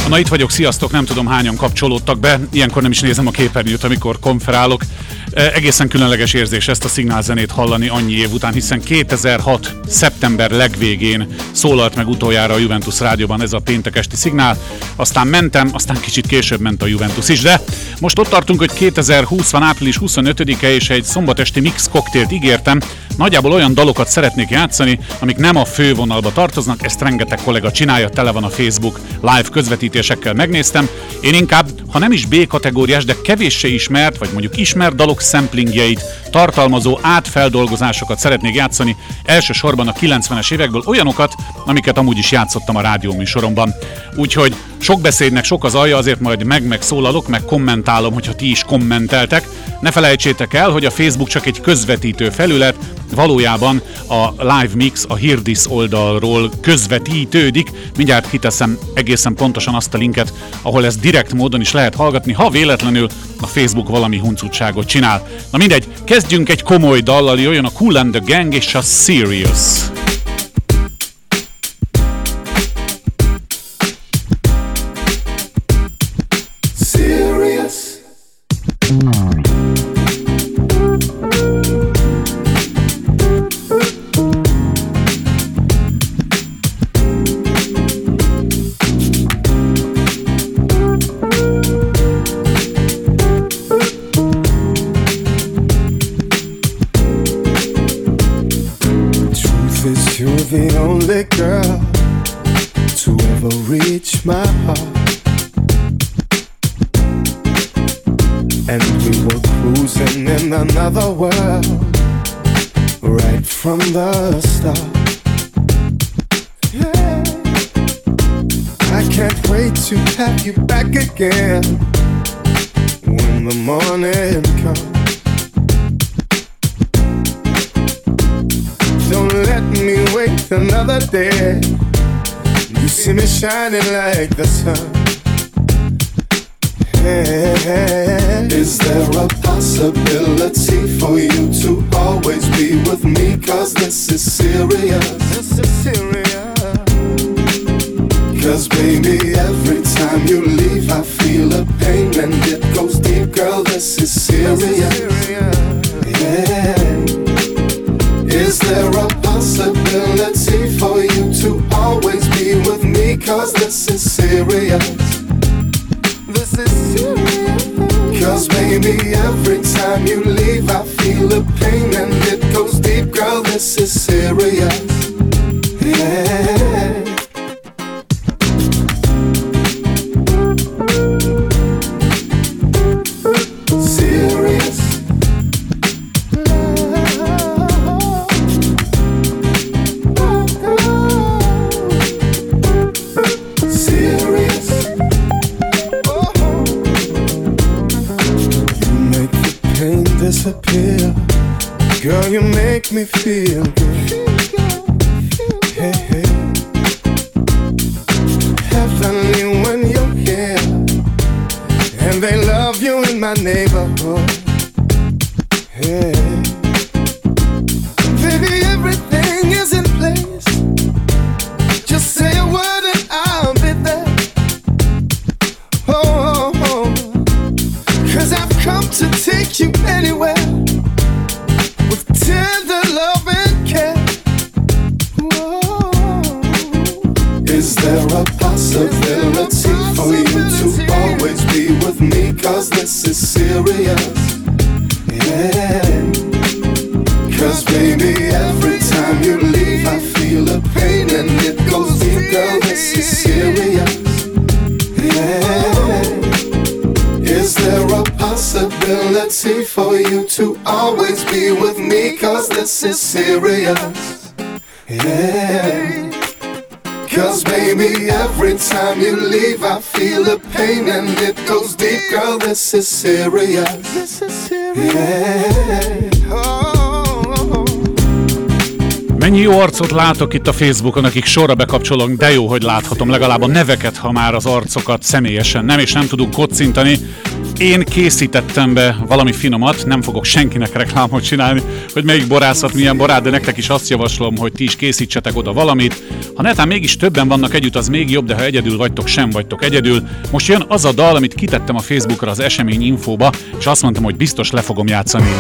Na itt vagyok, sziasztok, nem tudom hányan kapcsolódtak be, ilyenkor nem is nézem a képernyőt, amikor konferálok. Egészen különleges érzés ezt a szignálzenét hallani annyi év után, hiszen 2006. szeptember legvégén szólalt meg utoljára a Juventus rádióban ez a péntek esti szignál. Aztán mentem, aztán kicsit később ment a Juventus is, de most ott tartunk, hogy 2020 van április 25-e, és egy szombatesti mix koktélt ígértem. Nagyjából olyan dalokat szeretnék játszani, amik nem a fővonalba tartoznak, ezt rengeteg kollega csinálja, tele van a Facebook live közvetítésekkel, megnéztem. Én inkább, ha nem is B kategóriás, de kevéssé ismert, vagy mondjuk ismert dalok szemplingjeit tartalmazó átfeldolgozásokat szeretnék játszani, elsősorban a 90-es évekből, olyanokat, amiket amúgy is játszottam a rádióműsoromban. Úgyhogy sok beszédnek sok az alja, azért majd megszólalok, meg kommentálom, hogyha ti is kommenteltek. Ne felejtsétek el, hogy a Facebook csak egy közvetítő felület, valójában a live mix a Hear This oldalról közvetítődik. Mindjárt kiteszem egészen pontosan azt a linket, ahol ezt direkt módon is lehet hallgatni, ha véletlenül a Facebook valami huncutságot csinál. Na mindegy, kezdjünk egy komoly dallal, jöjjön a Kool and the Gang és a Serious. The only girl to ever reach my heart, and we were cruising in another world right from the start. Yeah. I can't wait to have you back again when the morning comes. Don't let me wait another day. You see me shining like the sun. Hey, is there a possibility for you to always be with me? 'Cause this is serious. This is serious. 'Cause baby, every time you leave I feel a pain and it goes deep. Girl, this is serious. Yeah. Is there a possibility for you to always be with me? 'Cause this is serious. This is serious. 'Cause baby, every time you leave I feel a pain and it goes deep. Girl, this is serious. Yeah. Disappear, girl, you make me feel good. Hey, hey. Heavenly when you're here, and they love you in my neighborhood. Hey, baby, everything is in place. Just say a word and I'll be there. Oh, oh, oh. 'Cause I've come to take you anywhere with tender love and care. Whoa. Is there a possibility for you to always be with me? 'Cause this is serious. Yeah. 'Cause baby, every time you leave I feel a pain and it goes deep. Girl, this is serious. Yeah. Is there a possibility for you to always be with me? 'Cause this is serious. Yeah. 'Cause baby, every time you leave I feel a pain and it goes deep. Girl, this is serious. This is serious. Yeah. Oh. Mennyi jó arcot látok itt a Facebookon, akik sorra bekapcsolok, de jó, hogy láthatom legalább a neveket, ha már az arcokat személyesen nem, és nem tudunk kocintani. Én készítettem be valami finomat, nem fogok senkinek reklámot csinálni, hogy melyik borászat milyen barát, de nektek is azt javaslom, hogy ti is készítsetek oda valamit. Ha netán mégis többen vannak együtt, az még jobb, de ha egyedül vagytok, sem vagytok egyedül. Most jön az a dal, amit kitettem a Facebookra az esemény infóba, és azt mondtam, hogy biztos le fogom játszani.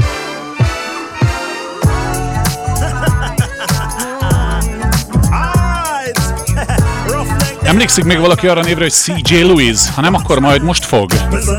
Emlékszik még valaki arra névre, hogy CJ Lewis? Ha nem, akkor majd most fog.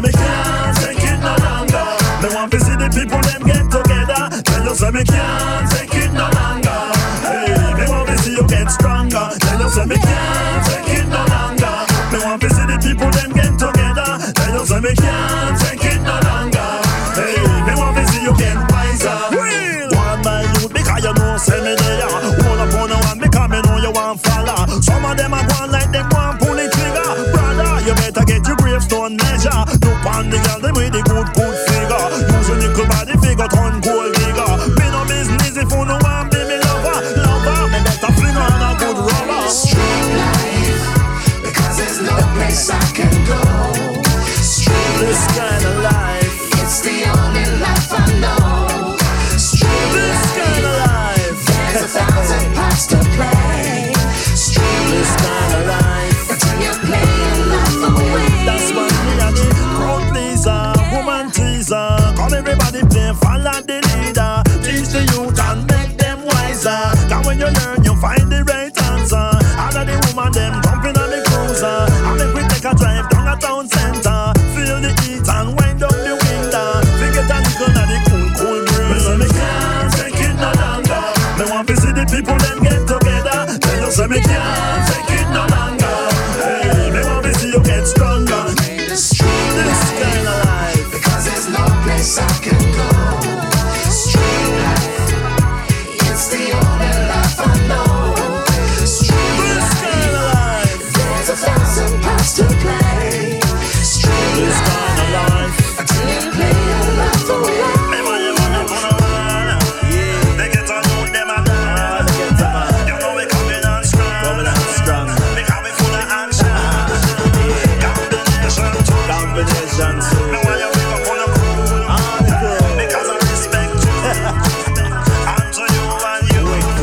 Some of them are going like them want pull the trigger. Brother, you better get your gravestone measure. Look on the girl, them with the good figure. Use your nickel body figure, turn gold digger. Me no business if you no want be me lover. Me better fling on a good rubber. Street life, because there's no place I can go. Street this kind of life, it's the only life I know. Street this kind of life, there's 1,000 parts to play. This kind of life, until you play your life away. That's what me and the crowd pleaser, woman teaser. Come everybody play, follow the leader. Teach the youth and make them wiser. Cause when you learn, you find the right answer. All of the woman them jumping on the cruiser. And make we take a drive down a town center. Feel the heat and wind down the window. Forget a little of the cool breeze. So me can't take it no longer. Me want to see the people them get together. Tell you so me can't take it no longer. Hey, me want to see you get stronger. This kind of life, because there's no place I can go. Street life, it's the only life I know. Street This kind of life, life, there's 1,000 parts to play. Street this kind of life. until you play your life away. Me want you wanna run. They get on you, them a done. You know we coming on strong. Because we full of action. Combination too. Me want you wake up on the crew. Because I respect you. And to you and you.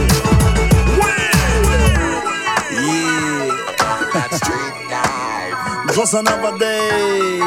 That's street life. Just another day.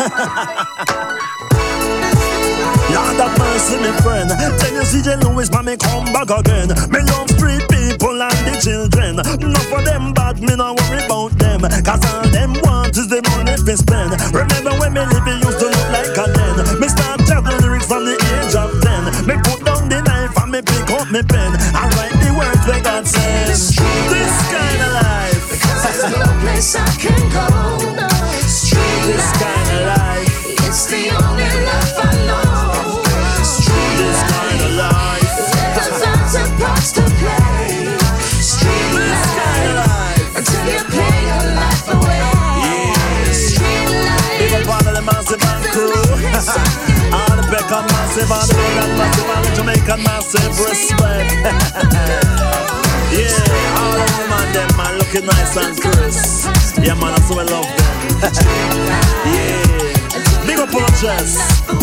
Lord have mercy, me friend. Tell you CJ Lewis, man, me come back again. Me love street people and the children. Not for them bad, me not worry about them. Cause all them want is the money we spend. Remember when me live, it used to look like a den. Me start chatting lyrics from the age of 10. Me put down the knife and me pick up me pen. I write the words where God says. This kind of life, Because there's no place I can go. Street this kind of life, it's the only life I know. Street this kind of life, there's 1,000 parts to play. Street this kind of life. until you play your life away. Street Big up life, all of the massive and crew. All the Beckham massive, all the Rogan massive, all the Jamaican massive, respect. Yeah, all the women them man looking nice and crisp. Yeah man, I so I love them. Yeah, big up on the chest.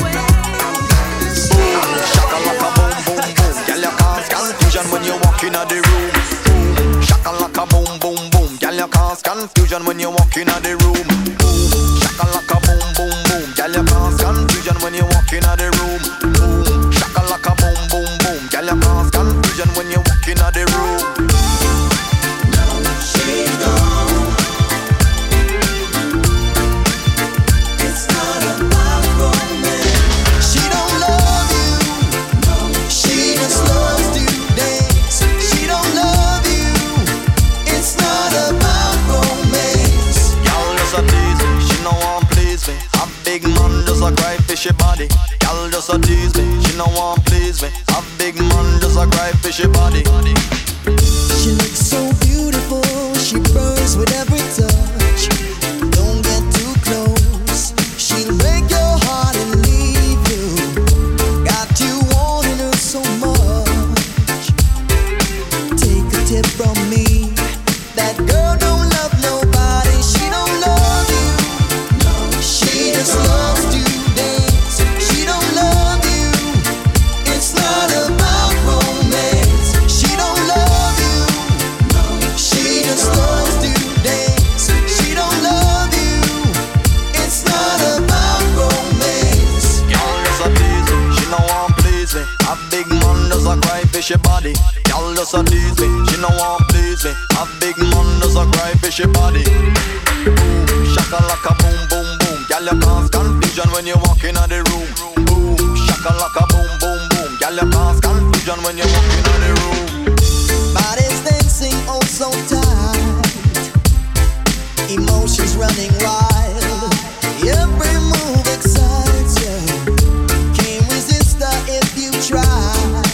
Shaka laka boom boom boom. Girl, you cause confusion when you walk in the room. Boom. Shaka laka boom boom boom. Girl, you cause confusion when you walk in the room. Boom. Shaka laka boom boom boom. Girl, you cause confusion when you walk in the room. Boom. Shaka laka boom boom boom. Girl, you cause confusion when you walk in the room. She don't love you. She just loves to dance. She don't love you. It's not about romance. Y'all just a tease me. She no want please me. A big man just a cry fishy body. Y'all just a tease me. She no want please me. A big man just a cry fishy body. She looks so beautiful. She burns with every touch. Don't get too close. She'll break your heart and leave you. Got you wanting her so much. Take a tip from me. That girl don't love nobody. She don't love you. She just loves me. A big man does a cry fishy body. Y'all does a tease me, she no want please me. A big man does a cry fishy body. Boom, shaka laka boom boom boom. Y'all you cause confusion when you walk in the room. Boom, shaka laka boom boom boom. Y'all you cause confusion when you walk in the room. Bodies dancing oh so tight, emotions running wild. Every move excites you. Can't resist her if you try.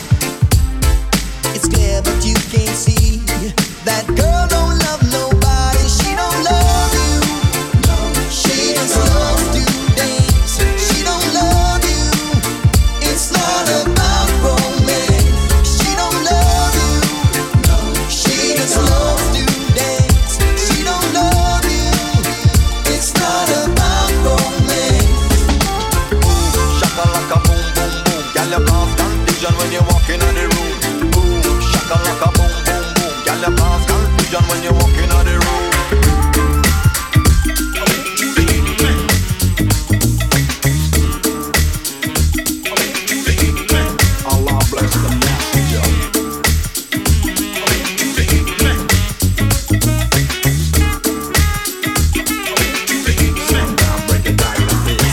It's clear but you can't see that girl don't love nobody. She don't love you. She just loves to dance. She don't love you. It's not about romance. She don't love you. She just loves to dance. She don't love you. It's not about romance. Shaka laka boom boom boom. Y'all you cause confusion when you walk in the room. Boom, shaka laka boom boom boom. Y'all you cause confusion when you walk in the room. Allah bless the messenger. Sundown, break it down like this.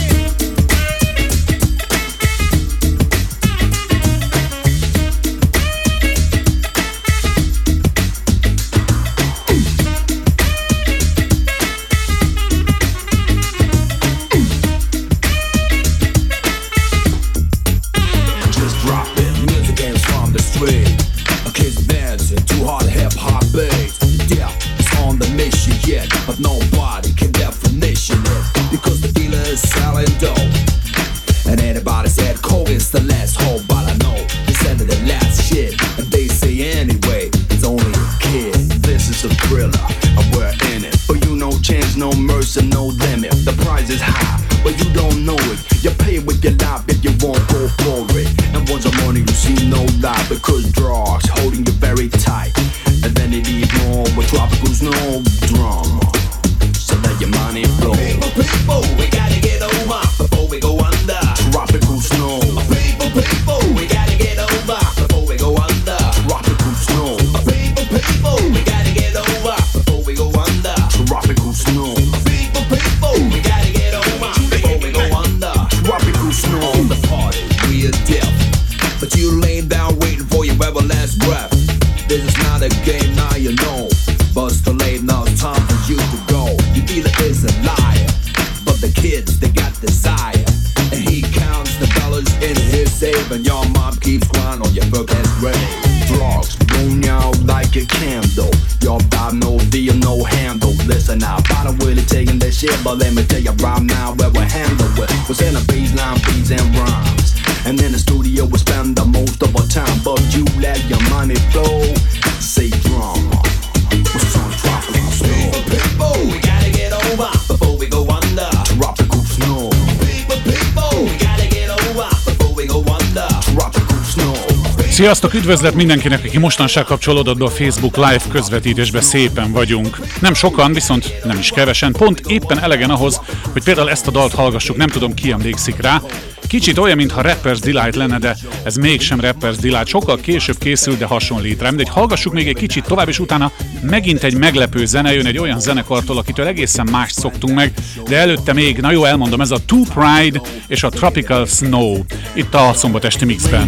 Just drop it. Music games from the street. Kids dancing to hard hip hop beats. Yeah, it's on the mission yet, but nobody can definition it because the dealer is selling dope. And anybody said coke is the last hope, but I know they said the last shit, and they say anyway it's only a kid. This is a thriller, and we're in it. For you, no chance, no mercy, no limit. The price is high, but you don't know it. You pay with your life if you won't go for it. And once the morning you see no light because drugs holding you very tight. And then they need more with tropical snow drama. So let your money flow. People, we gotta get over before we go under. Tropical snow. People, we gotta get over before we go under. Tropical snow. People, we gotta get over before we go under. Tropical snow. People, we gotta get over before we go under. Tropical snow. On the party, we are deaf, but you laying down waiting for your very last breath. This is not a game, now you know. But it's too late now, it's time for you to go. Your dealer is a liar, but the kids, they got desire. And he counts the dollars in his safe, and your mom keeps crying on your forecast ready. Drugs blown out like a candle. Your vibe, no deal, no handle. Listen now, I don't really taking this shit, but let me tell you right now where we handle it. We're sending baseline beats and rhymes, and in the studio we spend the most of our time. But you let your money flow. Say drama. What's on tropical snow? People, we gotta get over before we go under. Tropical snow. People, we gotta get over before we go under. Tropical snow. Sziasztok, üdvözlet mindenkinek, aki mostanság kapcsolódott be a Facebook Live közvetítésbe, szépen vagyunk. Nem sokan, viszont nem is kevesen, pont éppen elegen ahhoz, hogy például ezt a dalt hallgassuk, nem tudom ki emlékszik rá. Kicsit olyan, mintha Rapper's Delight lenne, de ez mégsem Rapper's Delight, sokkal később készült, de hasonlít rám. De hallgassuk még egy kicsit tovább, és utána megint egy meglepő zene jön egy olyan zenekartól, akitől egészen mást szoktunk meg, de előtte még, na jó, elmondom, ez a Two Pride és a Tropical Snow, itt a szombatesti mixben.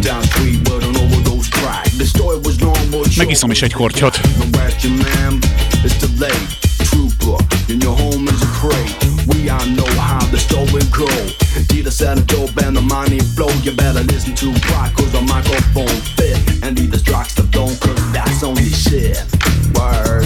Megiszom is egy kortyot. In your home is a crate. We all know how the story go. Dealer set a dope and the money flow. You better listen to rock cause the microphone fit. And leave the tracks to don't cause that's only shit. Word.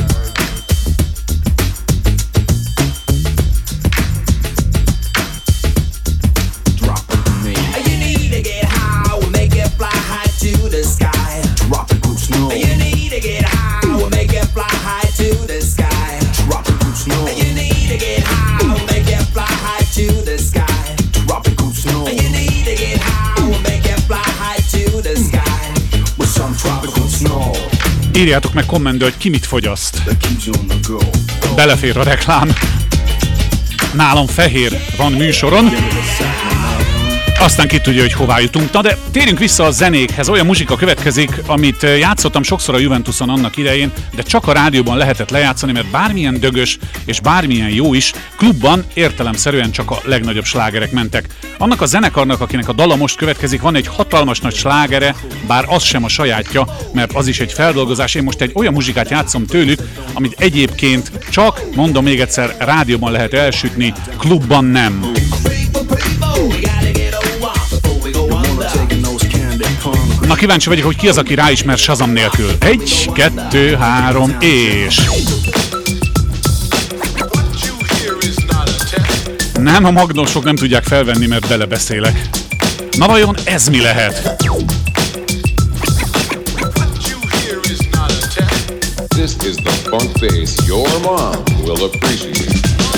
Drop it to me. You need to get high, we'll make it fly high to the sky. Tropical snow. You need to get high, we'll make it fly high to the sky. Tropical snow. You need to get high, we'll make it fly high to the sky. Tropical snow. You need to get high, we'll make it fly high to the sky. With some tropical snow. Írjátok meg kommentbe, hogy ki mit fogyaszt. That keeps you on the go. Belefér a reklám. Nálam fehér van műsoron. Aztán ki tudja, hogy hová jutunk. Na de térjünk vissza a zenékhez. Olyan muzsika következik, amit játszottam sokszor a Juventuson annak idején, de csak a rádióban lehetett lejátszani, mert bármilyen dögös és bármilyen jó is, klubban értelemszerűen csak a legnagyobb slágerek mentek. Annak a zenekarnak, akinek a dala most következik, van egy hatalmas nagy slágere, bár az sem a sajátja, mert az is egy feldolgozás. Én most egy olyan muzsikát játszom tőlük, amit egyébként csak, mondom még egyszer, rádióban lehet elsütni, klubban nem. Na kíváncsi vagyok, hogy ki az, aki ráismer Shazam nélkül. 1, 2, 3, és... Nem, a magnósok nem tudják felvenni, mert belebeszélek. Na vajon ez mi lehet? This is the funk bass your mom will appreciate.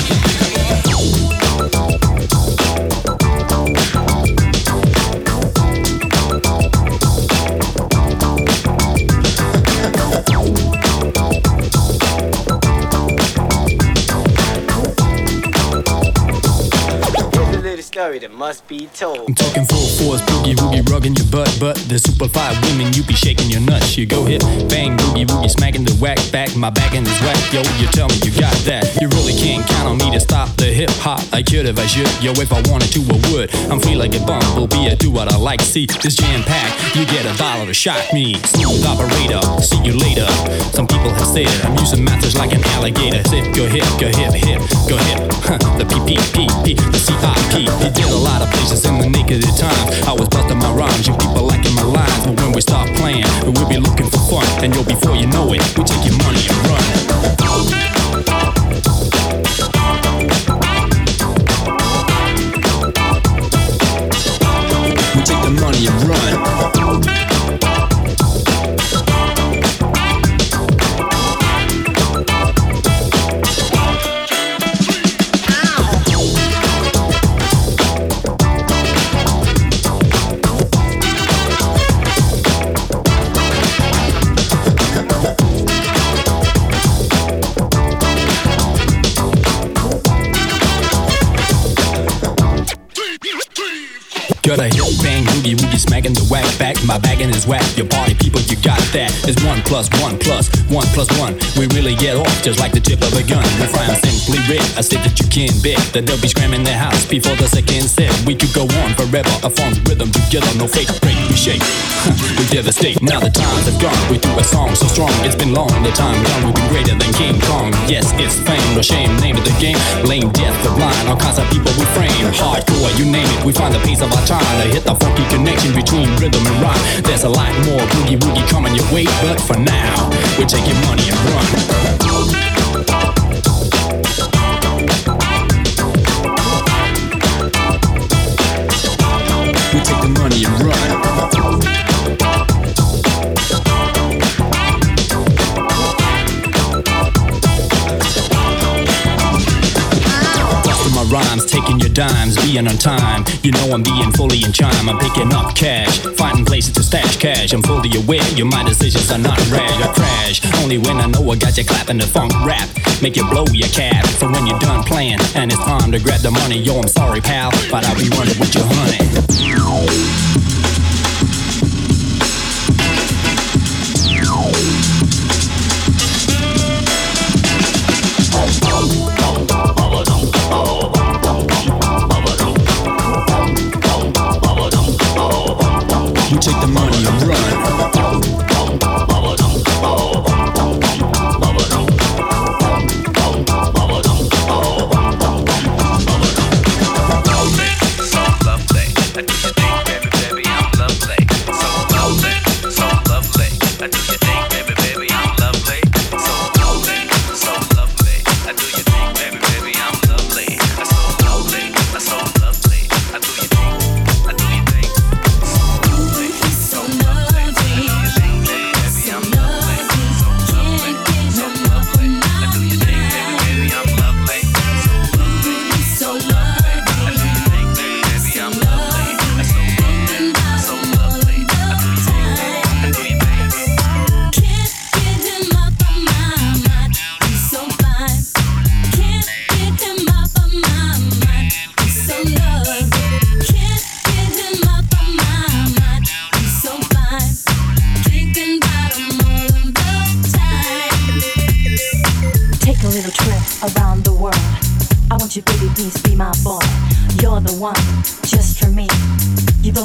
That must be told. I'm talking full force, boogie woogie, rugging your butt, but the super fly women, you be shaking your nuts. You go hit, bang, boogie woogie, smacking the whack back, my back is whack. Yo, you tell me you got that. You really can't count on me to stop the hip hop. I could if I should, yo, if I wanted to, I would. I'm free like a bumblebee, I do what I like. See, this jam pack, you get $1 to shock me. Smooth operator, see you later. Some people have said I'm using methods like an alligator. Zip, go hip, go hip, hip, go hip. The PPPP, the CIP. He did a lot of places in the naked times. I was busting my rhymes, you people liking my lines. But when we start playing, we'll be looking for fun. And yo, before you know it, we take your money and run. We take the money and run. Got a hip bang boogie woogie smacking the whack back. My bagging is whack. Your party people, you got that. It's 1 + 1 + 1 + 1. We really get off just like the tip of a gun. We fry simply red. I said that you can't bet that they'll be screaming their house before the second set. We could go on forever. A funk rhythm together, no fake break. We shake, we devastate. Now the times have gone. We do a song so strong. It's been long. The time gone. We've been greater than King Kong. Yes, it's fame or shame. Name of the game. Lame, death, the blind. All kinds of people we frame. Hardcore, you name it. We find the pace of our time to hit the funky connection between rhythm and rock. There's a lot more boogie woogie coming your way, but for now, we take your money and run. We take the money and run. Rhymes, taking your dimes, being on time. You know I'm being fully in chime. I'm picking up cash, finding places to stash cash. I'm fully aware, my decisions are not rash. I crash, only when I know I got you clapping the funk rap. Make you blow your cap, so when you're done playing and it's time to grab the money, yo, I'm sorry pal, but I'll be running with your honey. We take the money and run. So lovely. I do you think, baby?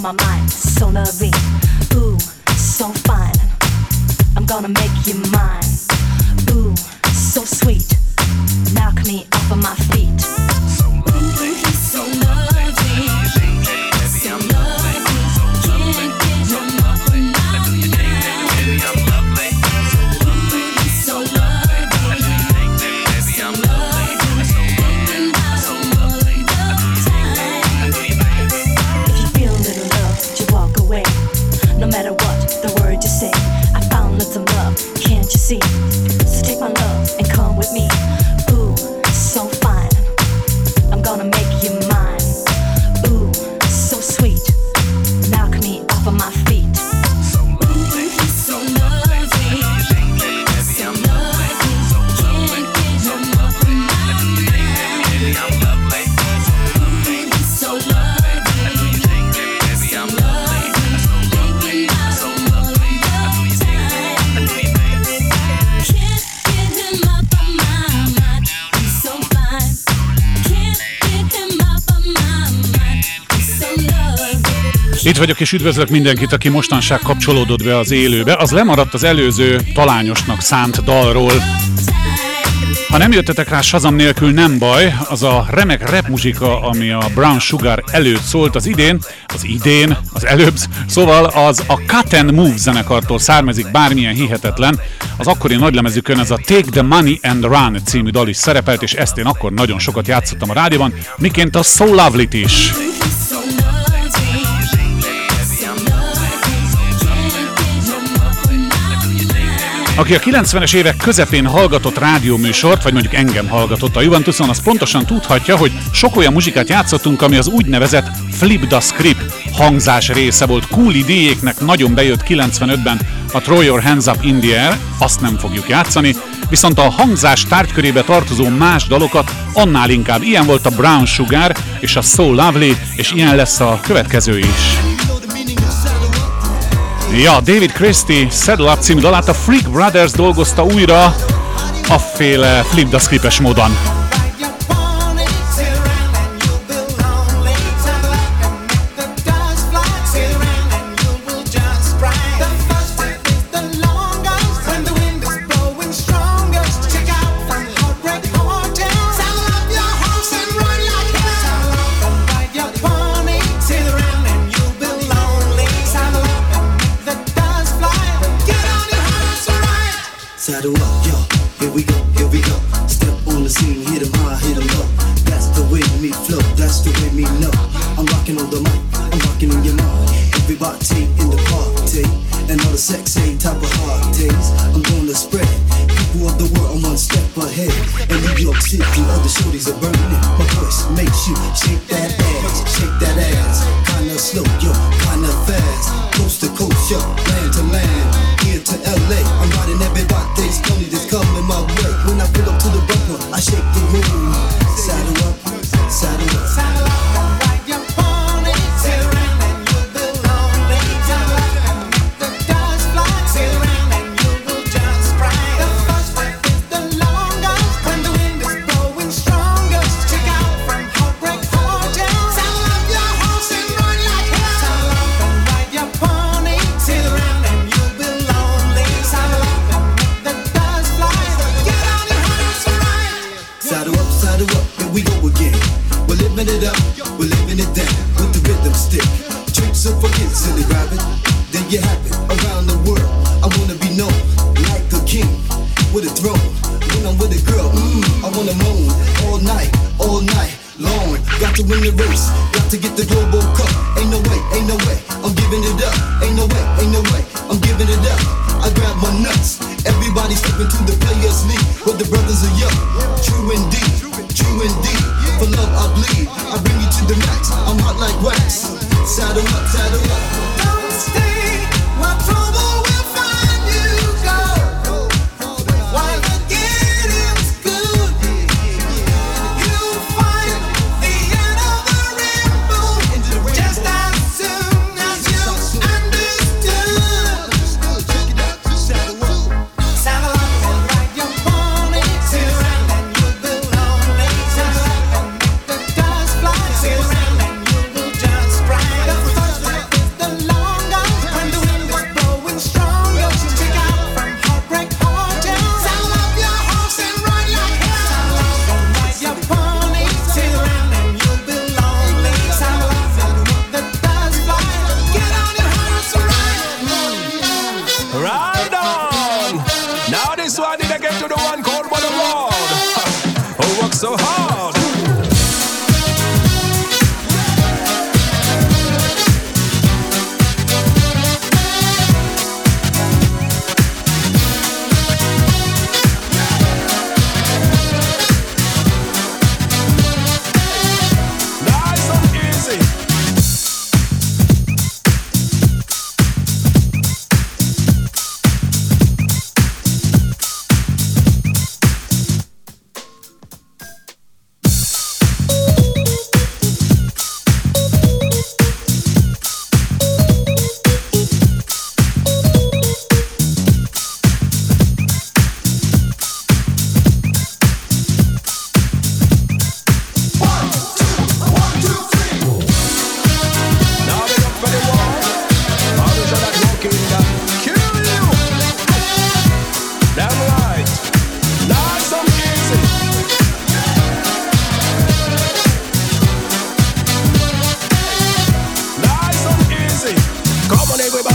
my mind, so lovely. Ooh, so fine. I'm gonna make you mine. Ooh, so sweet. Knock me off of my feet. So lovely, so lovely. So lovely. Can't get enough of my mind. Baby, I'm lovely. So lovely. So lovely. So lovely. If you feel a little love, you walk away. No matter what the word you say, I found lots of love, can't you see? So take my love and come with me. Ooh, so fine. I'm gonna make you mine. Ooh, so sweet. Knock me off of my feet. So lovely, so lovely. So lovely. Can't get enough of my mind. Baby, I'm lovely. So lovely. Baby, I'm lovely. So lovely. Can't get him up on my mind. He's so fine. Can't get him up on my mind. He's so lovely. Itt vagyok és üdvözlök mindenkit, aki mostanság kapcsolódott be az élőbe. Az lemaradt az előző talányosnak szánt dalról. Ha nem jöttetek rá Shazam nélkül, nem baj, az a remek rap muzsika, ami a Brown Sugar előtt szólt az előbb, szóval az a Cut and Move zenekartól származik, bármilyen hihetetlen. Az akkori nagylemezükön ez a Take the Money and Run című dal is szerepelt, és ezt én akkor nagyon sokat játszottam a rádióban, miként a So Lovely-t is. Aki a 90-es évek közepén hallgatott rádióműsort, vagy mondjuk engem hallgatott a Juventuson, az pontosan tudhatja, hogy sok olyan muzsikát játszottunk, ami az úgynevezett Flip the Script hangzás része volt. Cool idéjéknek nagyon bejött 95-ben a Throw Your Hands Up in the Air, azt nem fogjuk játszani, viszont a hangzás tárgykörébe tartozó más dalokat annál inkább. Ilyen volt a Brown Sugar és a So Lovely, és ilyen lesz a következő is. Ja, David Christie Saddle Up című dalát a Freak Brothers dolgozta újra afféle Flip the Script-es módon. Saddle up, yo, here we go. Step on the scene, hit 'em high, hit 'em low. That's the way me flow, that's the way me know. I'm rocking on the mic, I'm rocking in your mind. Everybody in the party, and all the sexy type of hard days. I'm gonna spread people of the world, I'm one step ahead. In New York City, all the shorties are burning. My voice makes you shake that ass. Kinda slow, yo, kinda fast. Coast to coast, yo, land to land. Here to LA, I'm riding everybody's pony that's coming my way. When I pull up to the bumper, I shake the room. Saddle up, saddle up. Saddle up and ride your pony. Sit around and you'll be lonely. Saddle up and make the dust fly. Sit around and you will just cry. The first step is the longest. When the wind is blowing strongest. Check out from Heartbreak Hotel. Saddle up your horse and run like hell. Saddle up and ride your pony. Sit around and you'll be lonely. Saddle up and make the dust fly. Get on your horse and ride. Saddle up, here we go again. We're living it up, we're living it down. With the rhythm stick. Tricks and forget silly rabbit. There you have it, around the world. I wanna be known like a king with a throne. When I'm with a girl, I wanna moan all night long. Got to win the race, got to get the global cup. Ain't no way, I'm giving it up. Ain't no way, I'm giving it up. I grab my nuts, everybody stepping to the players league. Where the brothers are young, true indeed. For love I bleed, I bring you to the max. I'm hot like wax. Saddle up. Don't stay, while trouble will find you. Go, while the getting's good. You'll find the end of the rainbow just as soon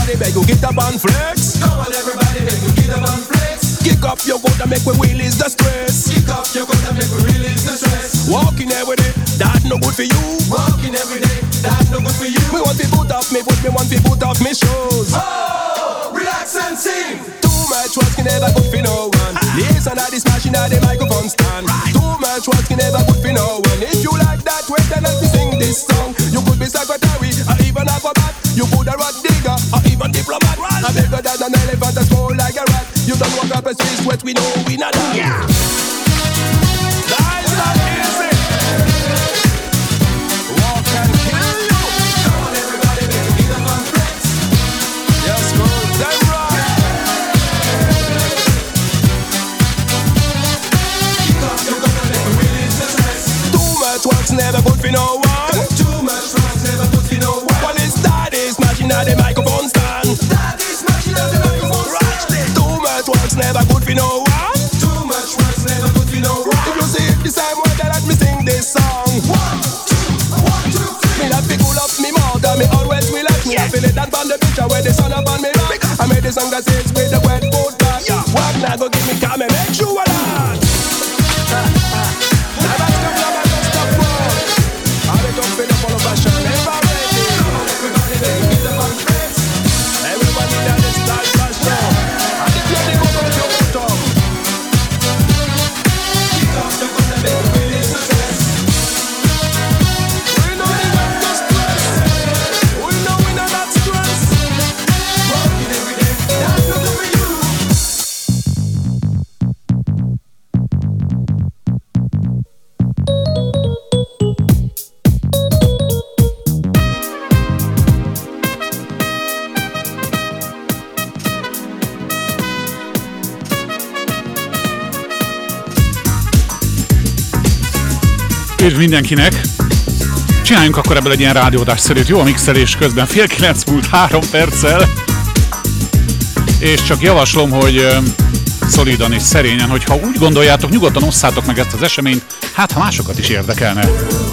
everybody beg you get up and flex. Come on everybody beg you get up and flex. Kick up your goat and make we release the stress. Kick up your goat and make we release the stress. Walking every day, that no good for you. Walking every day, that no good for you. Me want to put off me, me want to put off me shoes. Oh, relax and sing. Too much work can never good for no one. Listen to this machine at the microphone stand. Too much work can never good for no one. If you like that way, then let me sing this song. You could be secretary or even acrobat. You could a rat digger or even diplomat. I'm bigger than an elephant and small like a rat. You don't walk up a street sweat, we know we not that. Yeah. That's not easy. Walk and kill you. Come on everybody, baby, get up and flex. Yes, go, them right. Keep up your gun and make me release the stress. Too much work's never good for no one. Too much work's never good for no one. Well, it's daddy smashing at the microphone stand. Daddy smashing at the microphone stand. Too much work's never good for no one. Too much work's never good for no one. If you see it the same way, then let me sing this song. 1, 2, 3. Me love to cool up me mouth and me always will like me. I feel it that on the picture where the sun up on me back. I made the song that says with the wet foot back. Walk now go give me calm and make sure that. Never stop, never stop, bro. All the top in the follow fashion, never ready. Come on everybody, they get up and flex. Everybody that is style fashion. And if you're the go from your bottom. Keep up the gun and make me release the stress. We know we got no stress. We know we not that stress. Working every day, that's not good for you. Üdv mindenkinek! Csináljunk akkor ebből egy ilyen rádióadásszerűt, jó a mixelés közben, 8:30 múlt 3 perccel. És csak javaslom, hogy szolidan és szerényen, hogyha úgy gondoljátok, nyugodtan osszátok meg ezt az eseményt, hát ha másokat is érdekelne.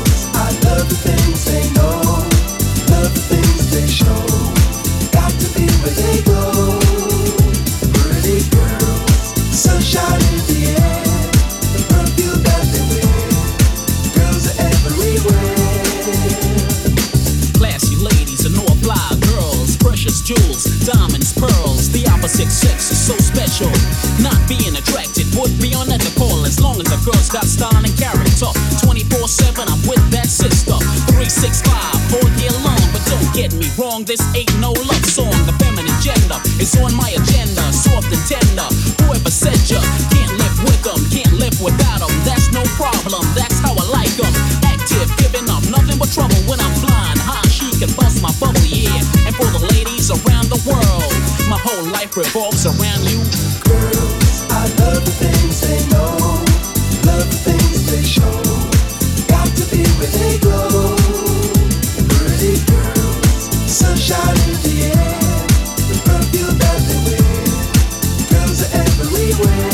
Jewels, diamonds, pearls, the opposite sex is so special. Not being attracted would be unethical as long as a girl's got style and character. 24/7, I'm with that sister. 365 all year long, but don't get me wrong, this ain't no love song. The feminine gender is on my agenda, soft and tender. Whoever said you can't live with them, can't live without them, that's no problem, that's how I like them. Active, giving up, nothing but trouble when I'm blind. High, she can bust my bubble, yeah. And for the ladies around the world, my whole life revolves around you. Girls, I love the things they know, love the things they show. Got to be where they go. Pretty girls, sunshine in the air, the perfume that they wear. Girls are everywhere.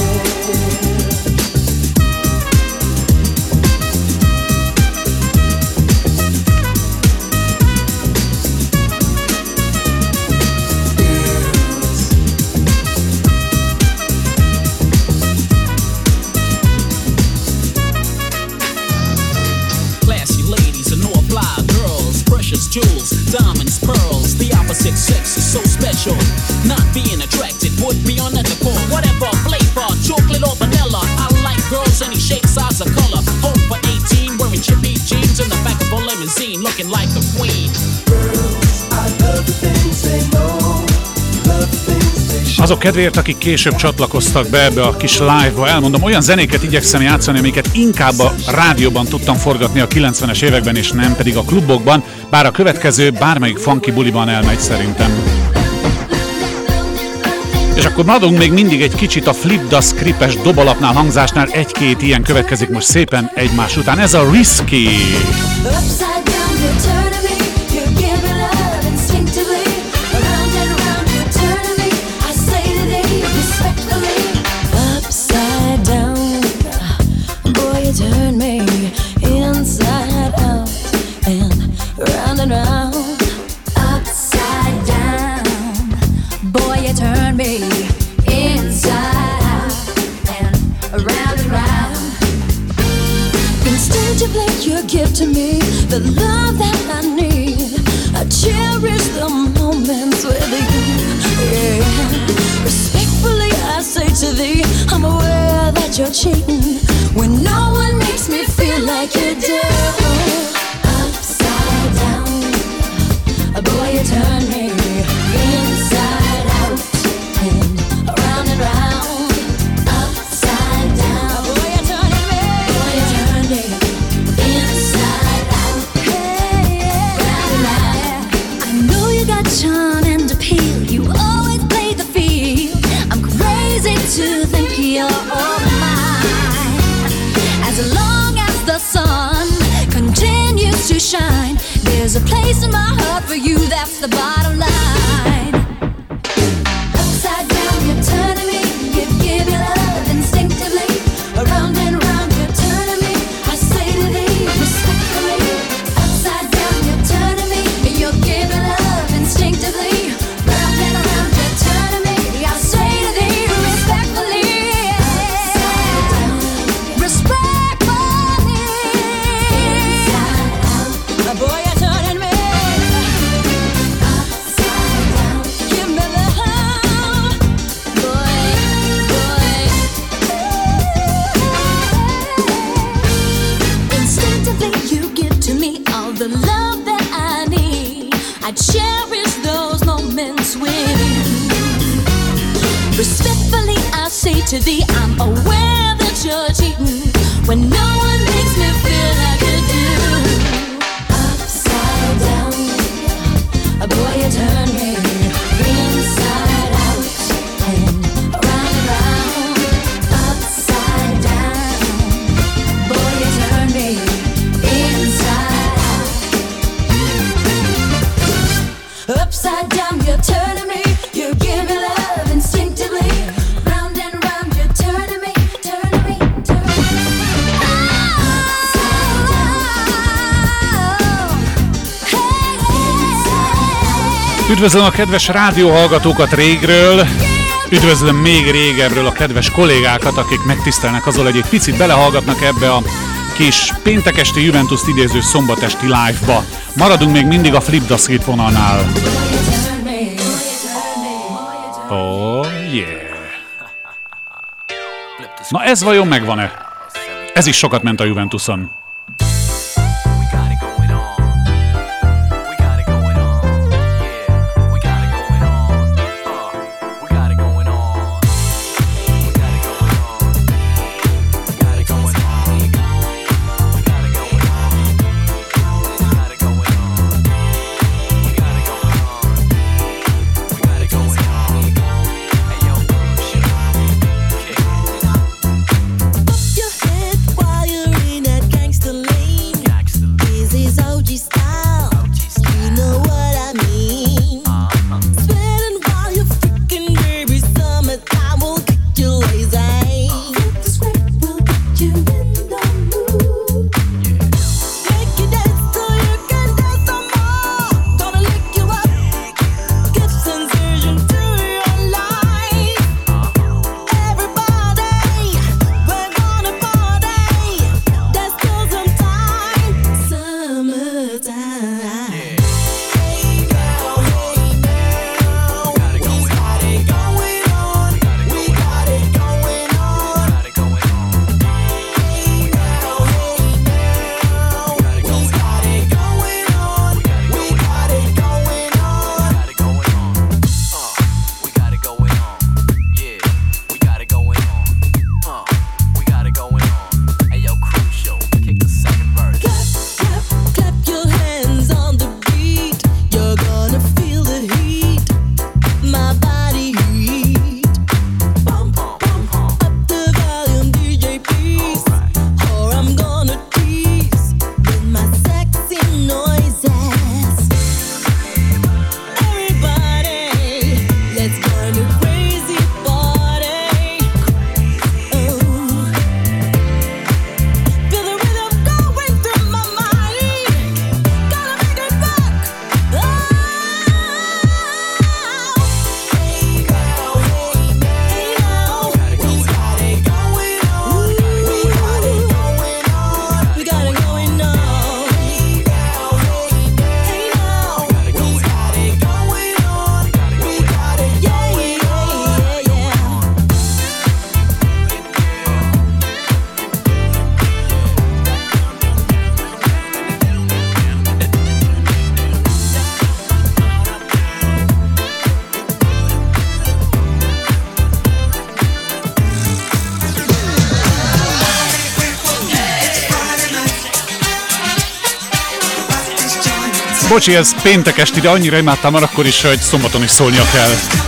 Jewels, diamonds, pearls, the opposite sex is so special. Not being attracted would be unethical. Whatever flavor, chocolate or vanilla, I like girls any shape, size, or color. Home for 18, wearing chippy jeans in the back of a limousine, looking like a queen. Girls, I love the things they know, love the things they show. Azok kedvéért, akik később csatlakoztak be ebbe a kis live-ba, elmondom, olyan zenéket igyekszem játszani, amiket inkább a rádióban tudtam forgatni a 90-es években, és nem pedig a klubokban, bár a következő bármelyik funky buliban elmegy szerintem. És akkor maradunk még mindig egy kicsit a Flip the Script-es dobalapnál, hangzásnál, egy-két ilyen következik most szépen egymás után. Ez a Risky. Turn me inside out and round and round, upside down. that you're cheating when no one makes me feel like you do. Upside down, boy, you turn me inside out and around and round. Upside down, boy, you turn me inside out, round and round. I know you got charm and appeal. You always play the field. I'm crazy to think you're all mine. As long as the sun continues to shine, there's a place in my heart for you, that's the bottom line. Upside down, you're turning me, you give your love instinctively. Around and round, you're turning me, I say to thee, respectfully. Upside down, you're turning me, you give your love instinctively. Round and round, you're turning me, I say to thee, respectfully. Upside down, respectfully. Inside out, boy, you're turning me. Upside down, give me love, boy, boy. Instinctively, you give to me all the love that I need. I cherish those moments with you. Respectfully, I say to thee, I'm aware that you're cheating when no one makes me feel like you do. Upside down, boy, you turn me inside out and around and round. Upside down, boy, you turn me inside out. Upside down, you're turning me, you give me love instinctively. Round and round, you're turning me, turning me, turning me. Upside down. Üdvözlöm a kedves rádióhallgatókat régről, üdvözlöm még régebről a kedves kollégákat, akik megtisztelnek azzal, hogy egy picit belehallgatnak ebbe a kis péntekesti Juventus-t idéző szombatesti live-ba. Maradunk még mindig a Flip the Script vonalnál. Oh yeah! Na ez vajon megvan-e? Ez is sokat ment a Juventuson. Your head while you're in that gangsta Bocsi, ez péntek esti, de annyira imádtam már akkor is, hogy szombaton is szólnia kell.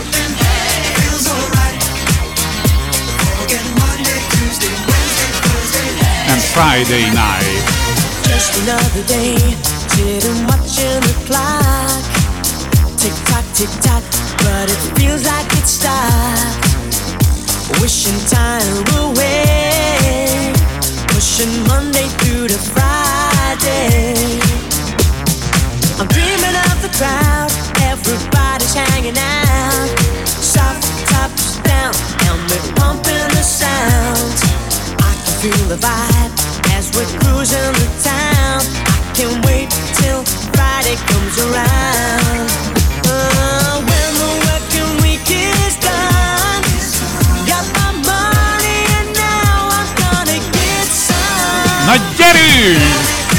And Friday night. Just another day, sitting watching the clock. Tick tock, tick tock, but it feels like it stopped. Wishing time away, pushing Monday through to Friday. I'm dreaming of the crowd, everybody's hanging out. Soft tops down, and we're pumping the sound. I can feel the vibe as we're cruising the town. I can't wait till Friday comes around. When the working week is done, got my money and now I'm gonna get some. Na gyerünk!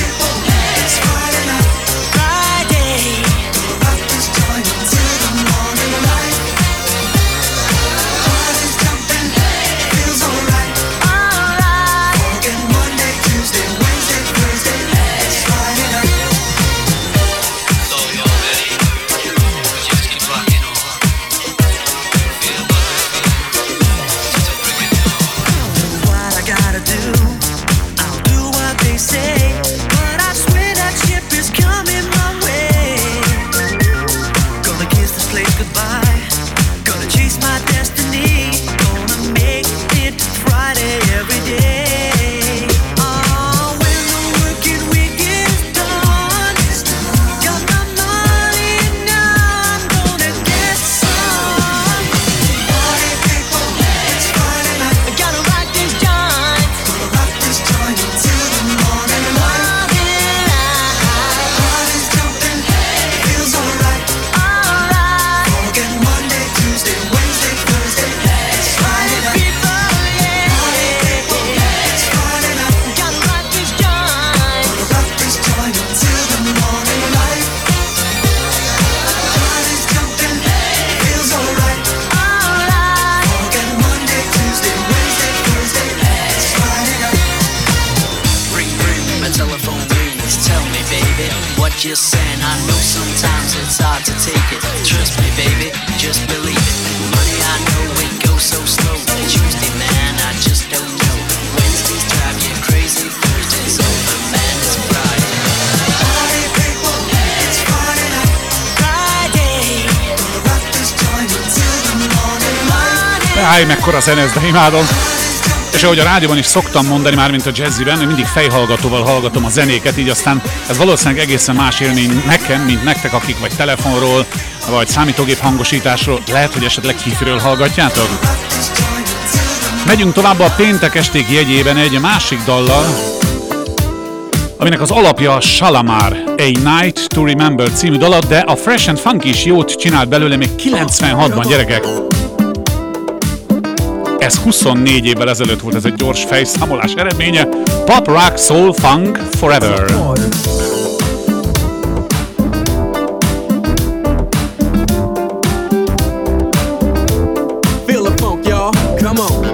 Mekkora zene ez, de imádom. És ahogy a rádióban is szoktam mondani, már mint a jazziben, hogy mindig fejhallgatóval hallgatom a zenéket, így aztán ez valószínűleg egészen más élmény nekem, mint nektek, akik vagy telefonról, vagy számítógép hangosításról, lehet, hogy esetleg hífről hallgatjátok. Megyünk tovább a péntek esték jegyében egy másik dallal, aminek az alapja a Shalamar, A Night to Remember című dal, de a Fresh and Funky is jót csinált belőle még 96-ban, gyerekek. Ez 24 évvel ezelőtt volt, ez egy gyors fejszámolás eredménye. Pop, rock, soul, funk, forever. Feel the funk, y'all. Come on.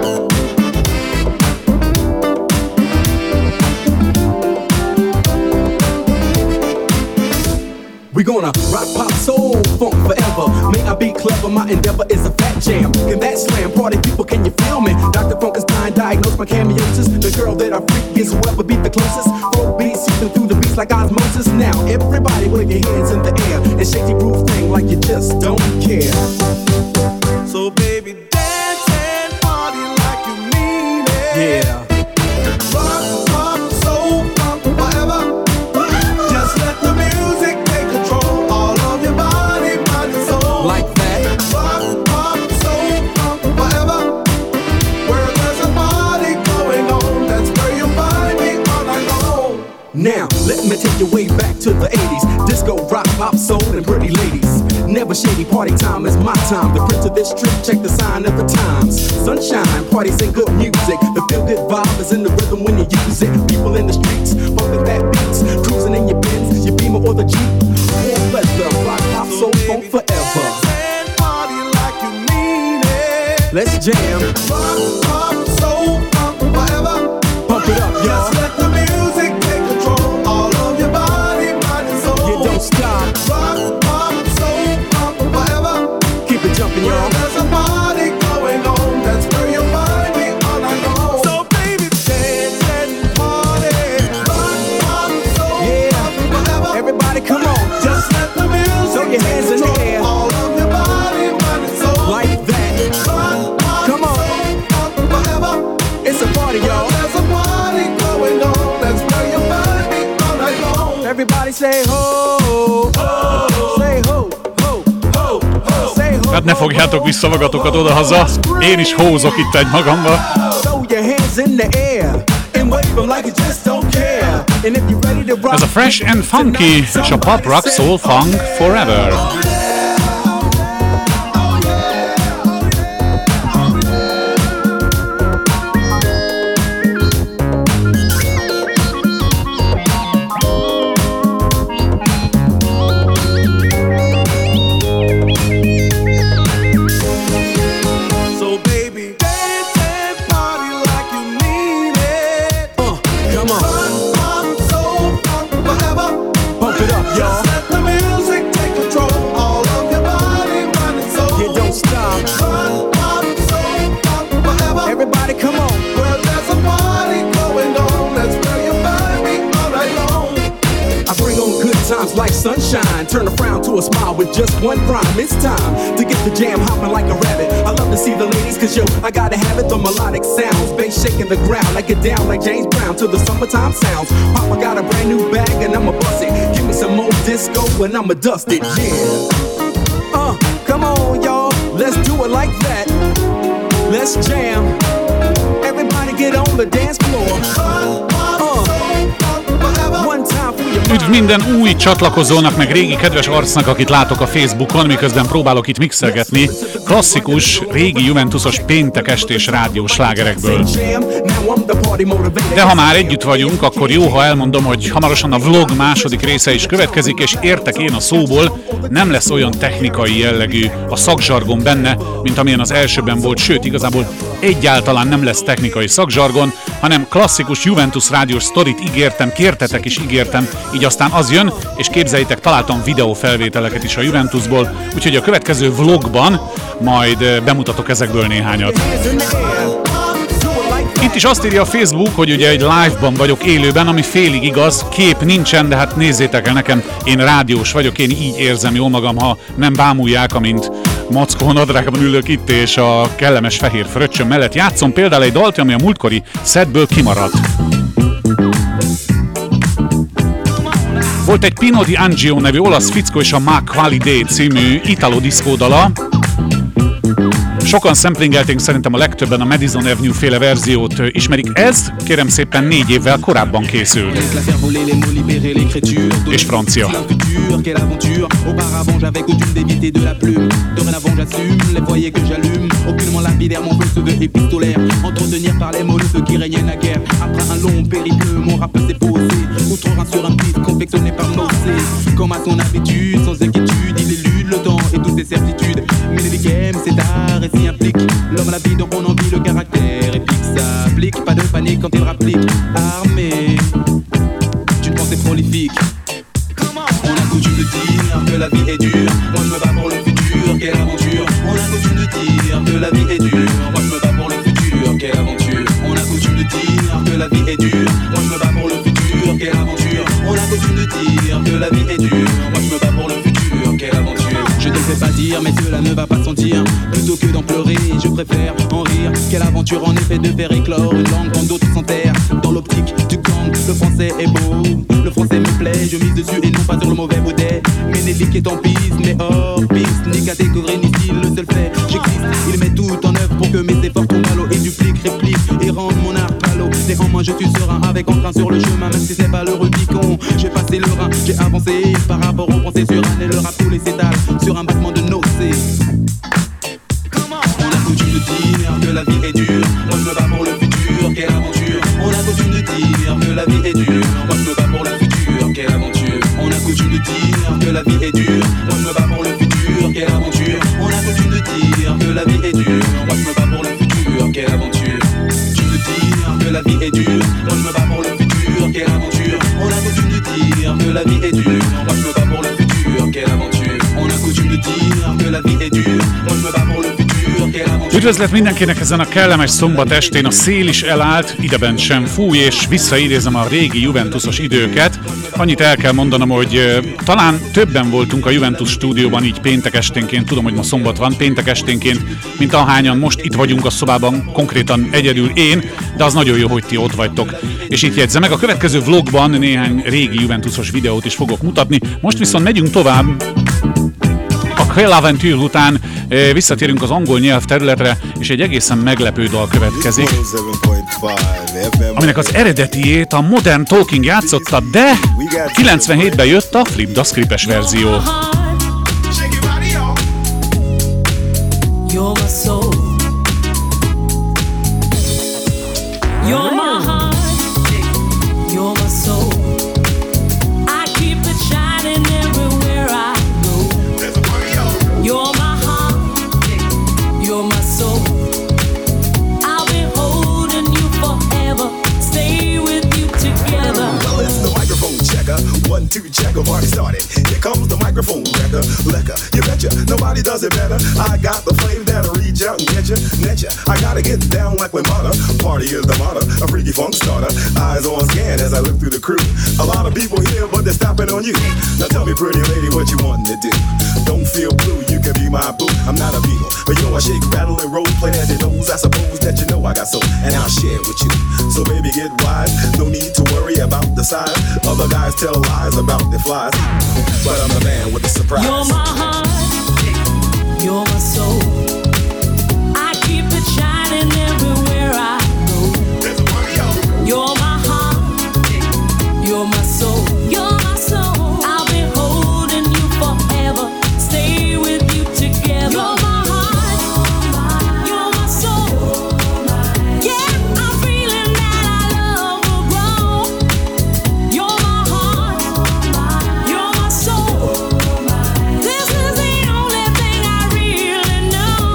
We gonna rock, pop, soul, funk forever. May I be clever, my endeavor is a fat jam. In that slam party, people, can you feel me? Dr. Funkenstein diagnosed my cameosis. The girl that I freak is whoever beat the closest. Folk beats seeping through the beats like osmosis. Now everybody wave your hands in the air and shake your groove thing like you just don't care. So baby, dance and party like you mean it. Yeah. Rock, pop, soul, funk forever. Just let the music take control. All of your body, mind and soul. Like that. Rock, pop, soul, funk forever. Where there's a party going on, that's where you'll find me all night long. Now, let me take you way back to the 80s. Disco, rock, pop, soul, and pretty ladies. Never shady, party time is my time. The prince of this trip, check the sign of the times. Sunshine, parties and good music. The feel-good vibe is in the rhythm when you use it. People in the streets, bumping that beats. Cruising in your Benz, your Beamer or the Jeep. Warm weather, rock, pop, soul, funk forever. Party like you mean it. Let's jam. Rock, pop, soul, funk forever. Pump it up, y'all. Just let the music take control. All of your body, mind and soul. You don't stop. Hát ne fogjátok vissza magatokat odahaza, én is hózok itt egy magamba. Ez a Fresh and Funky és a Pop Rock Soul Funk Forever. Like sunshine, turn a frown to a smile with just one rhyme. It's time to get the jam hopping like a rabbit. I love to see the ladies, cause yo, I gotta have it. The melodic sounds, bass shaking the ground. I get down like James Brown to the summertime sounds. Papa got a brand new bag and I'ma bust it. Give me some more disco and I'ma dust it, yeah. Come on y'all, let's do it like that. Let's jam. Everybody get on the dance floor. Üdv minden új csatlakozónak, meg régi kedves arcnak, akit látok a Facebookon, miközben próbálok itt mixelgetni klasszikus, régi Juventusos péntek estés rádiós slágerekből. De ha már együtt vagyunk, akkor jó, ha elmondom, hogy hamarosan a vlog második része is következik, és értek én a szóból, nem lesz olyan technikai jellegű a szakzsargon benne, mint amilyen az elsőben volt, sőt, igazából egyáltalán nem lesz technikai szakzsargon, hanem klasszikus Juventus rádiós sztorit ígértem, kértetek is ígértem, így aztán az jön, és képzeljétek, találtam videófelvételeket is a Juventusból, úgyhogy a következő vlogban majd bemutatok ezekből néhányat. Itt is azt írja a Facebook, hogy ugye egy live-ban vagyok élőben, ami félig igaz, kép nincsen, de hát nézzétek el nekem, én rádiós vagyok, én így érzem jól magam, ha nem bámulják, amint mackó nadrágban ülök itt, és a kellemes fehér fröccsöm mellett játszom például egy dalt, ami a múltkori setből kimaradt. Volt egy Pino di Angio nevű olasz fickó és a Ma Qualidé című italo disco dala. Sokan szemplingelték, szerintem a legtöbben a Madison Avenue féle verziót ismerik. Ez, kérem szépen, 4 évvel korábban készült. És francia. Comme à son habitude, sans inquiétude, il élude le temps et toutes ses certitudes. Mais les games, c'est art et s'y implique. L'homme à la vie, donc on en vit le caractère épique. S'applique, pas de panique quand il rapplique. Armé d'une pensée prolifique. On a coutume de dire que la vie est dure. Moi je me bats pour le futur, quelle aventure. On a coutume de dire que la vie est dure. Moi je me bats pour le futur, quelle aventure. On a coutume de dire que la vie est dure. Moi je me bats pour le futur, quelle aventure. On a coutume de dire que la vie est dure. Moi je me bats pour le futur, quelle aventure. Je ne sais pas dire, mais cela ne va pas sentir. Plutôt que d'en pleurer, je préfère en rire. Quelle aventure en effet de faire éclore une langue quand d'autres s'enterrent. Dans l'optique du gang, le français est beau. Le français me plaît, je mise dessus et non pas sur le mauvais baudet. Ménélique est en piste, mais hors piste. Ni catégorie ni style, le seul fait, j'existe. Il met tout en œuvre pour que mes efforts tombent à l'eau. Il duplique, réplique et rende mon art palo. Néanmoins je suis serein avec entrain sur le chemin. Même si c'est pas le Rubicon, j'ai passé le Rhin. J'ai avancé par rapport aux pensées sur un et le rap tous les s'étale sur un battement de nocées. On a coutume de dire que la vie est dure. Moi je me bats pour le futur, quelle aventure. On a coutume de dire que la vie est dure. Moi je me bats pour le futur, quelle aventure. On a coutume de dire que la vie est dure. Moi je me bats pour le futur, quelle aventure. On a coutume de dire que la vie est dure. Moi je me bats pour le futur, quelle aventure. Tu me dire que la vie est dure. Moi je me bats pour le futur, quelle aventure. On a coutume de dire que la vie est dure. Moi je me bats pour le futur, quelle aventure. On a coutume de dire que la vie est dure. Moi je me bats pour le futur, quelle aventure. Üdvözlet mindenkinek ezen a kellemes szombat estén, a szél is elállt, idebent sem fúj, és visszaidézem a régi Juventusos időket. Annyit el kell mondanom, hogy talán többen voltunk a Juventus stúdióban így péntek esténként, tudom, hogy ma szombat van, péntek esténként, mint ahányan most itt vagyunk a szobában, konkrétan egyedül én, de az nagyon jó, hogy ti ott vagytok. És itt jegyzem meg, a következő vlogban néhány régi Juventusos videót is fogok mutatni, most viszont megyünk tovább. A Quelle Aventure után visszatérünk az angol nyelv területre, és egy egészen meglepő dal következik, aminek az eredetiét a Modern Talking játszotta, de 97-ben jött a Flip the Script-es verzió. You're my soul. You're my heart. You're my soul. I keep it shining everywhere I go. You're my heart. You're my soul. I'll be holding you forever. Stay with you together. Well, it's the microphone checker. 1, 2, check, I've already started. Here comes the microphone wrecker. Lecker, you betcha, nobody does it better. I got the flame that'll reach out and get ya. I gotta get down like when mother. Party is the motto, a freaky funk starter. Eyes on scan as I look through the crew. A lot of people here, but they're stopping on you. Now tell me, pretty lady, what you wanting to do? Don't feel blue, you can be my boo. I'm not a beagle, but yo, I shake, rattle, and roll, play as it knows. I suppose that you know I got soul, and I'll share it with you. So baby, get wise. No need to worry about the size. Other guys tell lies about their flies, but I'm the man with the surprise. You're my heart. You're my soul. I keep it shining everywhere I go. You're my heart. You're my soul. You're my soul. I'll be holding you forever. Stay with you together. You're my heart. You're my soul. Yeah, I'm feeling that our love will grow. You're my heart. You're my soul. This is the only thing I really know.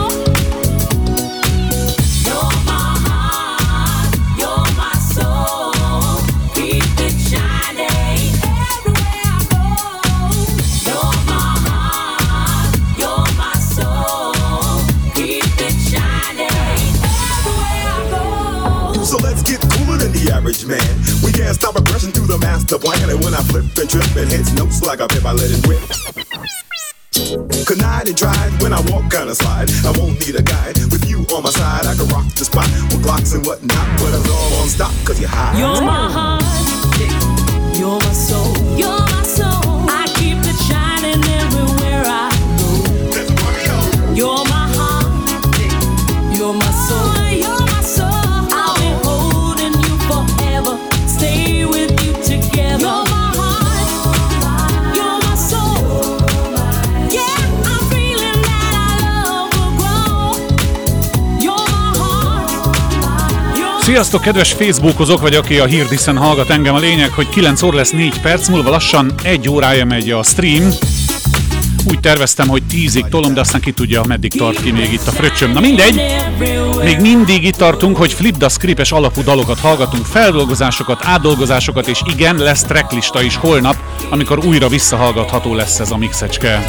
You're my heart. You're my soul. Keep it shining everywhere I go. You're my heart. You're my soul. Keep it shining everywhere I go. So let's get cooler than the average man. We can't stop aggression through the master plan. And when I flip and trip, it hits notes like a pip, I let it rip. Connive and tried when I walk kinda slide. I won't need a guide. With you on my side, I can rock the spot with Glocks and whatnot. But it's all on stop, cause you're high. You're my heart. You're my soul. You're my soul. I keep it shining everywhere I go. You're my heart. You're my soul. You're my soul. I'll be holding you forever. Stay with you together. You're my heart. You're my soul. Yeah, I'm feeling that our love will grow. You're my heart. You're Sziasztok, kedves Facebookozók, vagy aki a Hirdiszen hallgat engem. A lényeg, hogy 9 óra lesz 4 perc, múlva lassan 1 órája megy a stream. Úgy terveztem, hogy 10-ig tolom, de aztán ki tudja, meddig tart ki még itt a fröccsöm. Na mindegy, még mindig itt tartunk, hogy Flip the Script-es alapú dalokat hallgatunk, feldolgozásokat, átdolgozásokat, és igen, lesz tracklista is holnap, amikor újra visszahallgatható lesz ez a mixecske.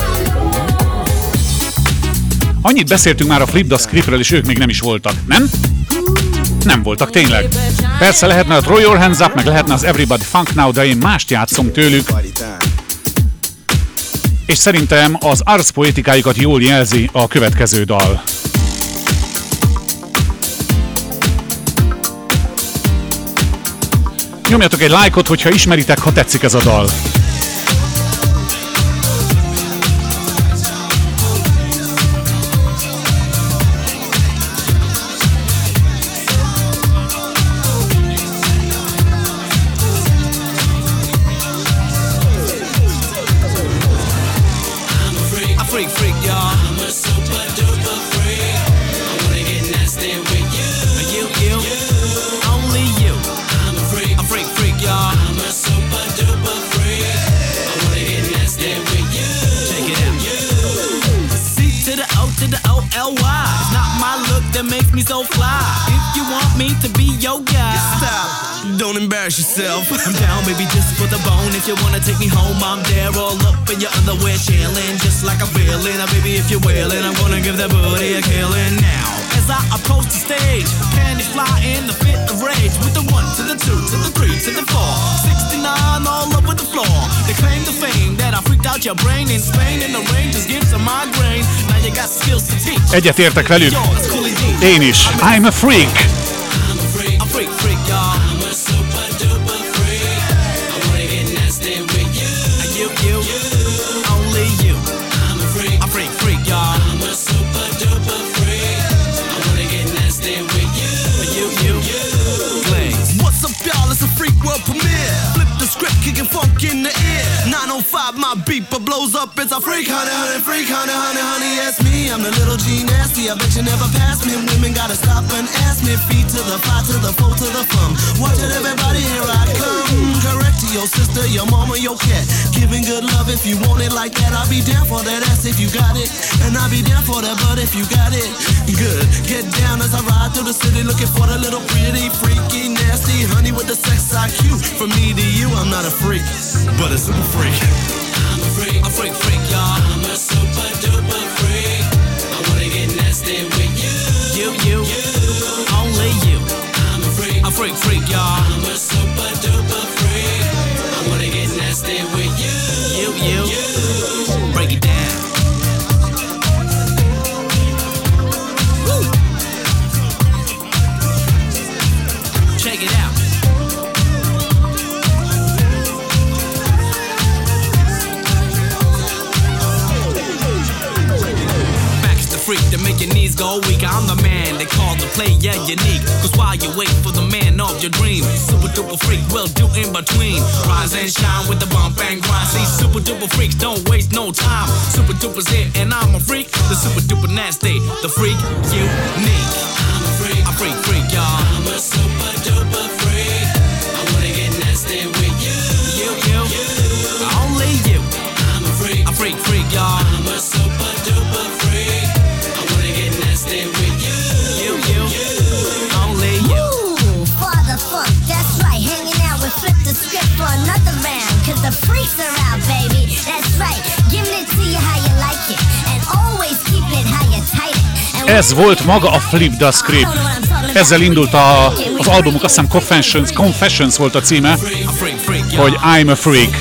Annyit beszéltünk már a Flip the Scriptről, és ők még nem is voltak, nem? Nem voltak tényleg. Persze lehetne a Throw Your Hands Up, meg lehetne az Everybody Funk Now, de én mást játszom tőlük. És szerintem az arcpoetikájukat jól jelzi a következő dal. Nyomjatok egy lájkot, hogyha ismeritek, ha tetszik ez a dal. So fly. If you want me to be your guy, stop. Don't embarrass yourself. I'm down, baby, just for the bone. If you wanna take me home, I'm there, all up in your underwear, chillin', just like a villain. Now, baby, if you're willing, I'm gonna give that booty a killing now. As as I approach the stage. Panties fly in the fit of rage. With the 1 to the 2 to the 3 to the 4. 69 all over the floor. They claim the fame that I freaked out your brain in Spain. And the rain just gives a migraine. Now you got skills to teach. Egyet értek velük. Én is. I'm a freak. I'm a freak, freak, y'all. I'm a super duper freak. I wanna get nasty with you. You, only you. I'm a freak, y'all. I'm a super duper freak. I wanna get nasty with you. You. What's up, y'all? It's a freak world premiere. Flip the script, kicking funk in the ear. 905, my beeper blows up. It's a freak, honey, freak, honey, yes me. I'm the little G nasty. I bet you never pass me. Women gotta stop and ask me. Feet to the 5 to the 4 to the thumb. Watch it, everybody, here I come. Correct to your sister, your mama, your cat. Giving good love if you want it like that. I'll be down for that ass if you got it. And I'll be down for that butt if you got it. Good. Get down as I ride through the city looking for the little pretty, freaky, nasty honey with the sex IQ. From me to you, I'm not a freak, but a super freak. I'm a freak, y'all. I'm a super duper freak. I wanna get nasty with you. You, only you. I'm a freak, y'all. I'm a super duper freak. I wanna get nasty with you. You, break it down. Woo. Check it out. Freak to make your knees go weak. I'm the man they call the player unique. Cause while you wait for the man of your dream, super duper freak will do in between. Rise and shine with the bump and grind. See, super duper freaks don't waste no time. Super duper's here and I'm a freak. The super duper nasty, the freak unique. I'm a freak, y'all. I'm a super duper freak. I wanna get nasty with you. You, only you. I'm a freak, y'all. I'm a super duper freak. Nasty with you, only you. Ooh, Father Funk, that's right. Hanging out with Flip the Script for another round. Cause the freaks are out, baby. That's right. Giving it to you how you like it. And always keep it how you tight it. Ez volt maga a Flip the Script. Ezzel indult az albumuk, azt hiszem Confessions volt a címe, hogy I'm a Freak.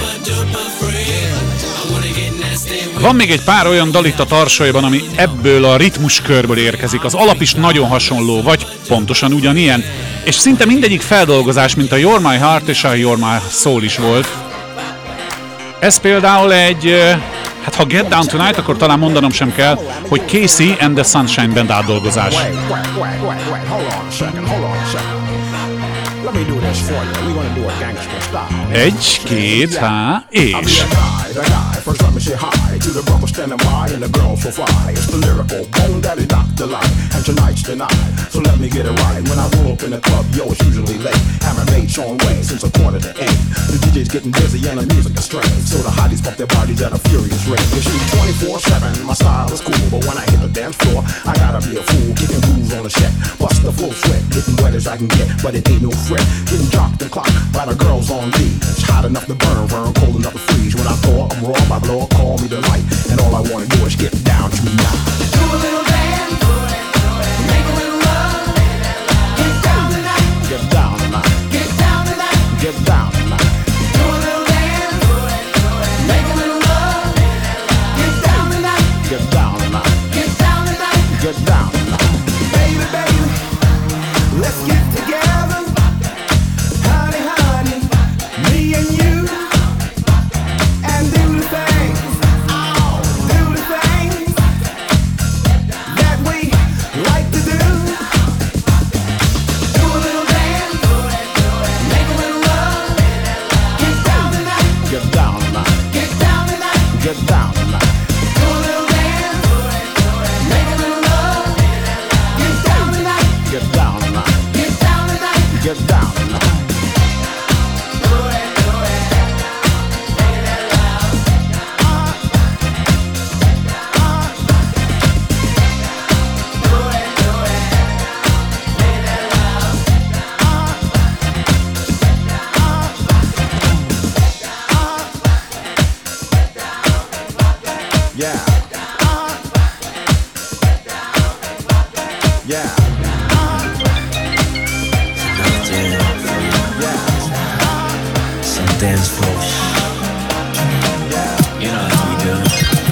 Van még egy pár olyan dal itt a tarsaiban, ami ebből a ritmuskörből érkezik. Az alap is nagyon hasonló, vagy pontosan ugyanilyen. És szinte mindegyik feldolgozás, mint a You're My Heart és a You're My Soul is volt. Ez például egy, hát ha Get Down Tonight, akkor talán mondanom sem kell, hogy Casey and the Sunshine Band átdolgozás. Egy, két, há, és... First let me say hi to the brother standing by and the girl so fly. It's the lyrical bone daddy Dr. Light, and tonight's the night, so let me get it right. When I roll up in the club, yo, it's usually late. Hammer made Sean Wayne since a quarter to 8. The DJ's getting busy and the music is strange, so the hotties pump their bodies at a furious rate. You shoot 24/7, my style is cool, but when I hit the dance floor, I gotta be a fool. Kicking grooves on the set, bust the full sweat, getting wet as I can get, but it ain't no fret. Getting dropped and clocked by the girls on lead. It's hot enough to burn, cold enough to freeze. When I thaw, I'm raw, my blow, call me the light, and all I wanna do is get down to me now. Do a little dance, make a little love, get down tonight, get down tonight, get down tonight, get down tonight. Do a little dance, make a little love, get down tonight, get down tonight, get down tonight, get down tonight. Baby, baby, let's get together, honey, honey, me and you. Yeah. Some dance floor. You know how we do.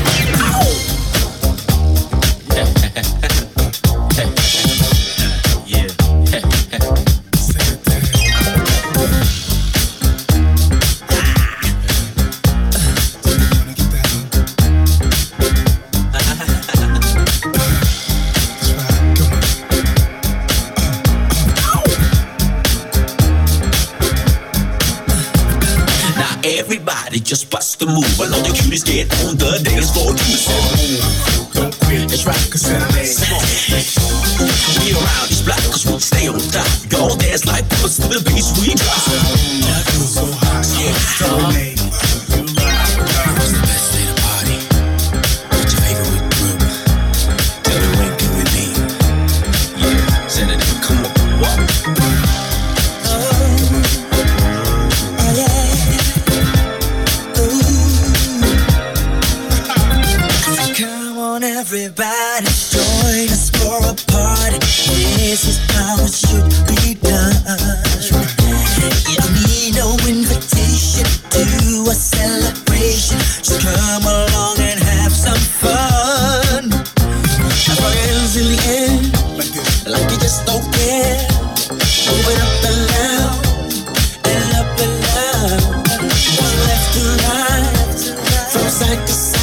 Everybody just bust the move. I know the cuties get on the dance floor too. So move, don't quit. It's right, cause we around these blocks, cause we stay on top. We all dance like puss to the bass we drop. So hot, yeah. What's the best day to party? What's your favorite group? Tell me when can we be? Yeah, send it in, come on, walk. Everybody join us for a party. This is how it should be done. You don't need no invitation to a celebration. Just come along and have some fun. Have our hands in the air, like you just don't care. Move it up and down, and up and down. Left to right, from side to side.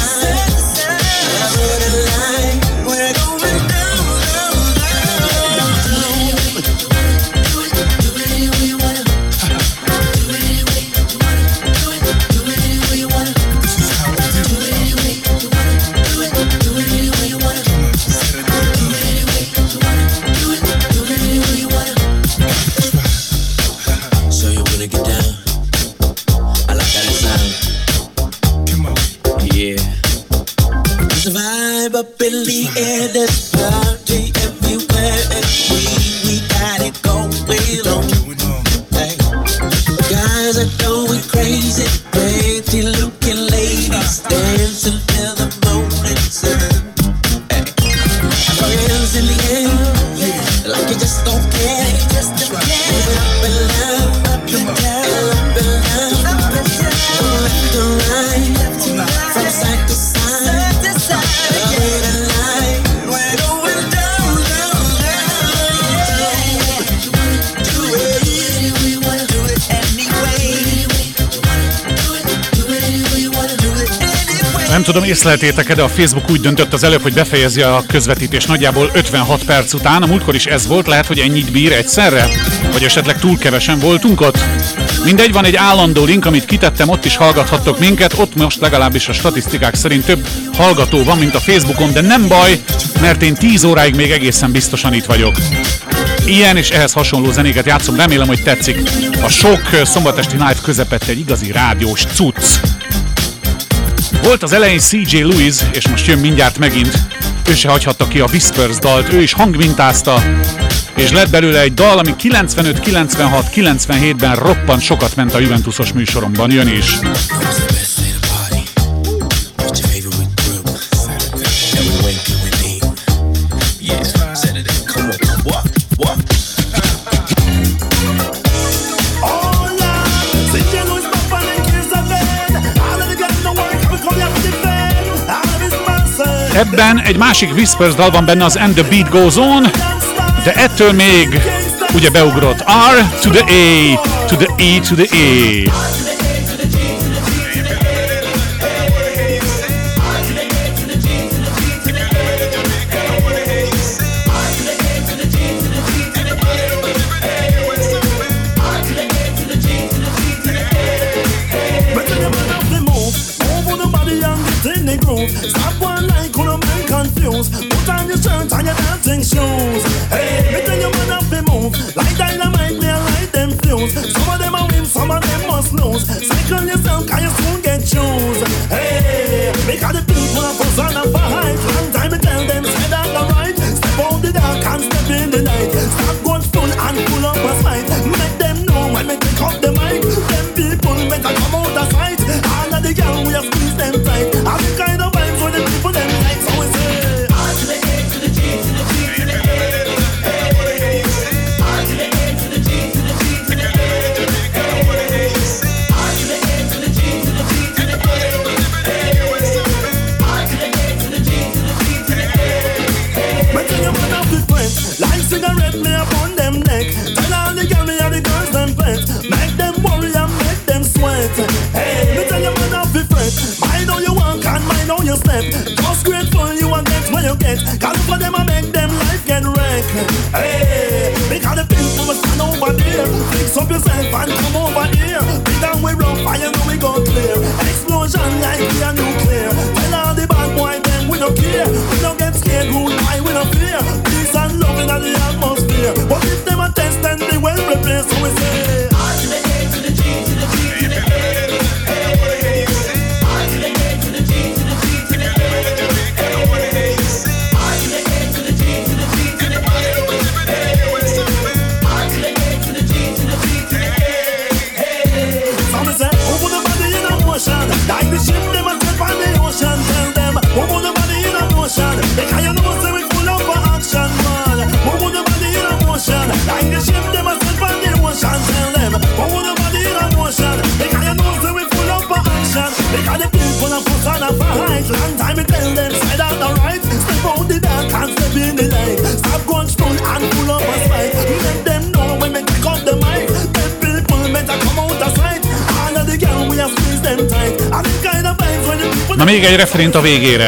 Up in the air, there's party everywhere, and we got it going on. Hey. Guys are going crazy, pretty looking ladies dancing till the morning sun. Hey. Have your hands in the air, like you just don't care. Move it up and down, up and down, up and down, left to right, from side to side. Nem tudom, észleltétek-e, de a Facebook úgy döntött az előbb, hogy befejezi a közvetítés nagyjából 56 perc után. A múltkor is ez volt, lehet, hogy ennyit bír egyszerre? Vagy esetleg túl kevesen voltunk ott? Mindegy, van egy állandó link, amit kitettem, ott is hallgathattok minket. Ott most legalábbis a statisztikák szerint több hallgató van, mint a Facebookon, de nem baj, mert én 10 óráig még egészen biztosan itt vagyok. Ilyen és ehhez hasonló zenéket játszom, remélem, hogy tetszik. A sok szombatesti live közepette egy igazi rádiós cucc. Volt az elején CJ Lewis, és most jön mindjárt megint. Ő se hagyhatta ki a Whispers dalt, ő is hangmintázta, és lett belőle egy dal, ami 95, 96, 97-ben roppant sokat ment a Juventusos műsoromban, jön is. Ebben egy másik Whispers dal van benne, az And the Beat Goes On, de ettől még ugye beugrott R to the A, to the E to the A. Stop one like on a man confused. Put on your shirt and your dancing shoes. Hey, me tell you man have to move. Like dynamite, they light them fuse. Some of them are win, some of them must lose. Cycle yourself, can you soon get shoes. Hey, because the people are fuss on a fight. Long time I tell them, say that the right. Step out the dark and step in the night. Stop going full and pull up a fight. Make them know when they pick up the mic. Them people better come out of sight. All of the girls we have squeezed them tight. I'm the kind of vibes when the people them like. So we say R to the A to the G to the G to the A. Like cigarette me upon them neck. Tell all the girl me and the girls them pet. Make them worry and make them sweat. Hey, me tell you man off the fret. Mind how you walk and mind how you step. Just grateful you and get what you get. Call for them and make them life get wrecked. Hey, because the people will stand over there. Fix up yourself and come over here. Be down we rough and you know we go clear. Explosion like we are nuclear. Tell all the bad boy them we don't care. We don't get scared, rude by we don't fear. Peace and love in the atmosphere. But if them a test then they well prepared. So we say R to the A to the G to the G to the A. Hey, R to the A to the G to the G to the A. Hey, R to the A to the G to the G to the A. Hey, R to the A to the G to the G to the A. Hey, so we say over the body in a motion. Like the ship them a step on the ocean. Tell them over the body in a motion. Because you know say we full up for action, man. Over the body in a motion. Like the ship them a step on the ocean. Tell them over the body in a motion. Because you know say we full up for action. Because the people are full on a fight. Long time we tell them side out the right. Step out the dark and step in the light. Stop going full and full up a spite. Let them know when we pick up the mic. The people better come out of sight. All of the girls we have squeezed them tight. And the kind of vibes when the people. Na még egy refrént a végére.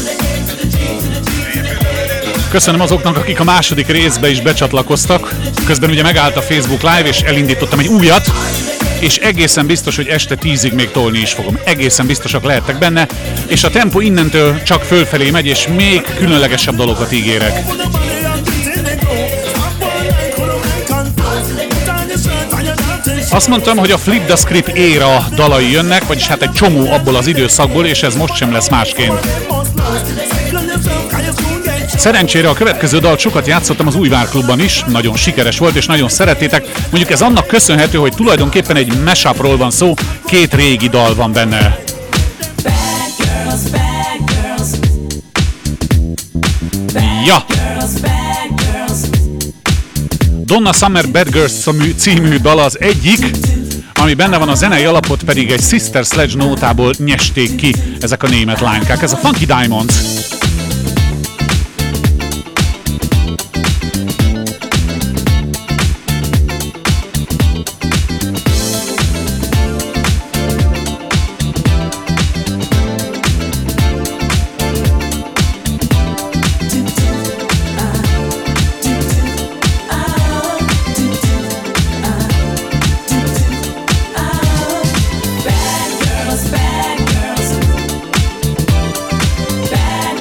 Köszönöm azoknak, akik a második részbe is becsatlakoztak. Közben ugye megállt a Facebook Live, és elindítottam egy újat, és egészen biztos, hogy este 10-ig még tolni is fogom. Egészen biztosak lehettek benne, és a tempó innentől csak fölfelé megy, és még különlegesebb dolgokat ígérek. Azt mondtam, hogy a Flip the Script éra dalai jönnek, vagyis hát egy csomó abból az időszakból, és ez most sem lesz másként. Szerencsére a következő dalt sokat játszottam az Újvár Klubban is, nagyon sikeres volt és nagyon szerettétek. Mondjuk ez annak köszönhető, hogy tulajdonképpen egy mashupról van szó, két régi dal van benne. Ja! Donna Summer Bad Girls című dal az egyik, ami benne van, a zenei alapot pedig egy Sister Sledge nótából nyesték ki ezek a német lánykák. Ez a Funky Diamonds. Bad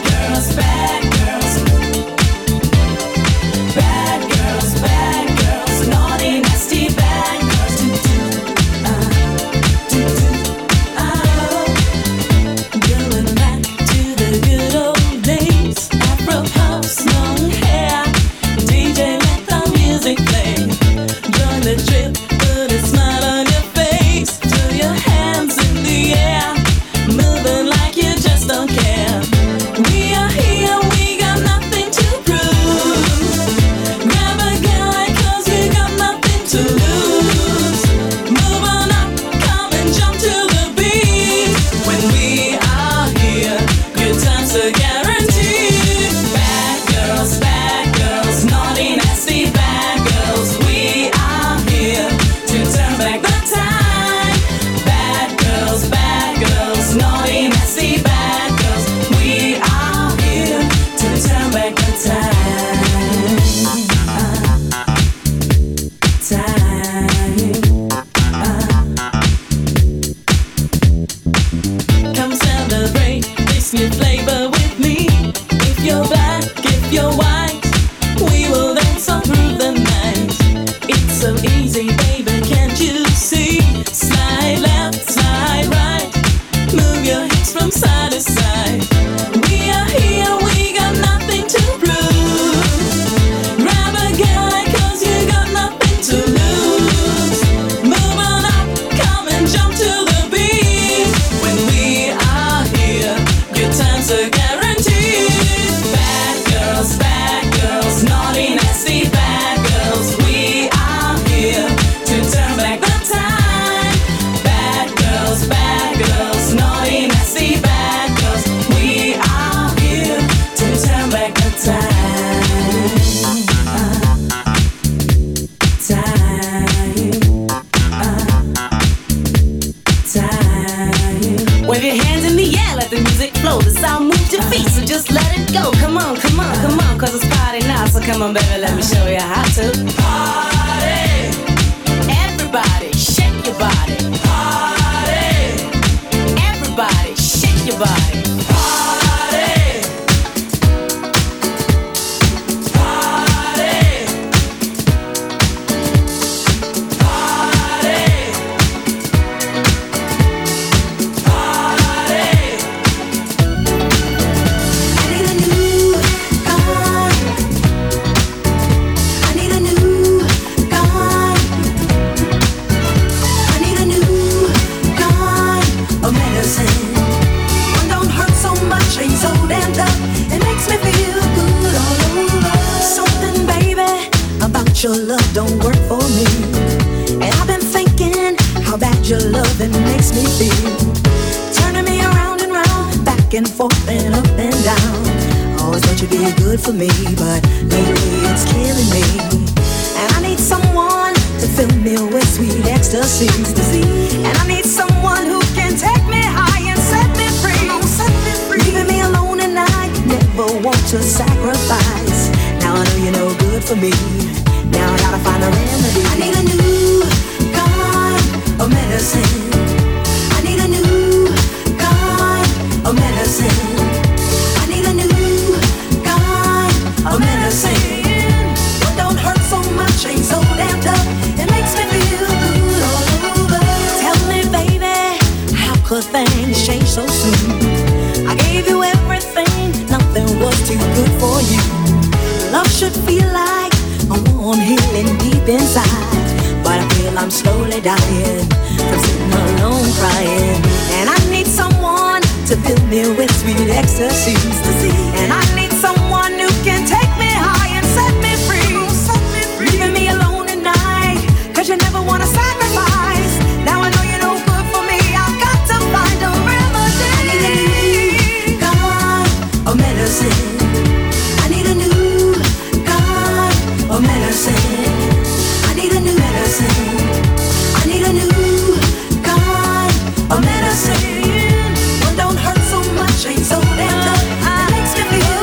Come on, baby, let me show you how to party. Everybody, shake your body. Party. Everybody, shake your body. Party. Party. Party. Your love don't work for me, and I've been thinking how bad your loving makes me feel. Turning me around and round, back and forth and up and down. Always thought you'd be good for me, but lately it's killing me. And I need someone to fill me with sweet ecstasy. And I need someone who can take me high and set me free. Leaving me alone and I never want to sacrifice. Now I know you're no good for me. Now I gotta find a remedy. I need a new kind of medicine. I need a new kind of medicine. I need a new kind of medicine. What don't hurt so much, ain't so damn tough. It makes me feel good all over. Tell me, baby, how could things change so soon? I gave you everything, nothing was too good for you. Love should feel like a warm healing deep inside, but I feel I'm slowly dying from sitting alone crying. And I need someone to fill me with sweet ecstasy. And I need someone who can take me high and set me free. Leaving me alone at night, cause you never wanna sacrifice. Now I know you're no good for me, I've got to find a remedy. I need a new kind of medicine. I need a new kind of medicine. I need a new medicine. I need a new kind of medicine. One don't hurt so much, ain't so damn tough. It makes me feel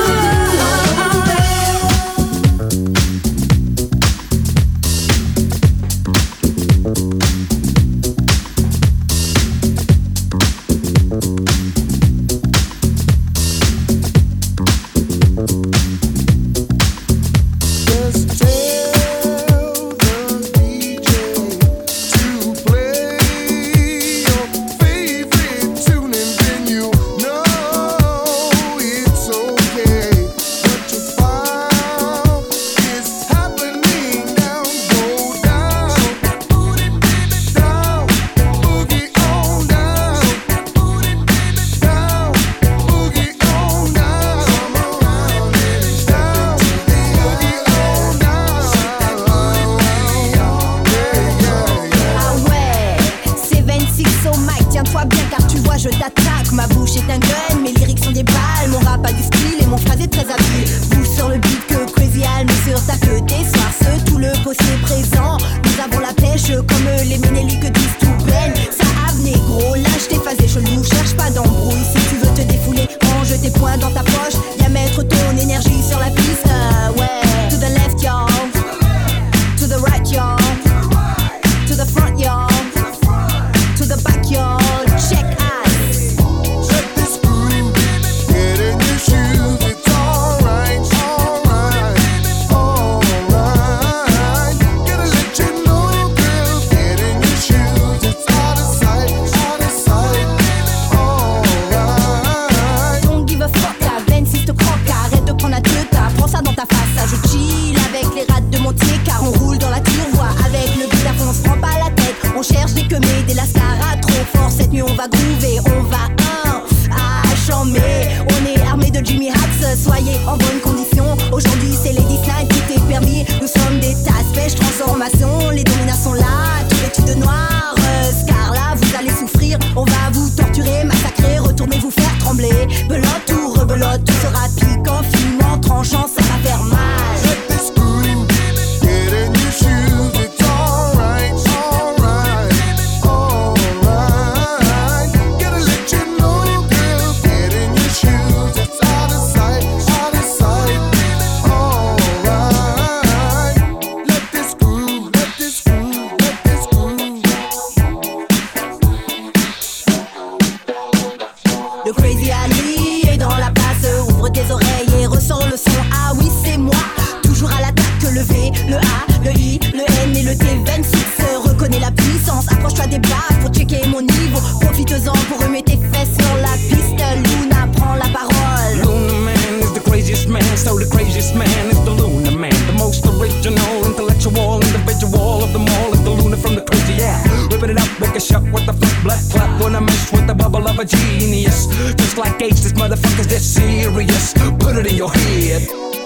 le A, le I, le N et le T26. Reconnais la puissance, approche-toi des bases pour checker mon niveau. Profite-en pour remettre tes fesses sur la piste. Luna prend la parole. Luna Man is the craziest man, so the craziest man is the Luna Man. The most original, intellectual, individual of them all is the Luna from the crazy, yeah. Rip it up, make a shot with the flip, black clap when I mess with the bubble of a genius. Just like H, this motherfucker's that serious. Put it in your head.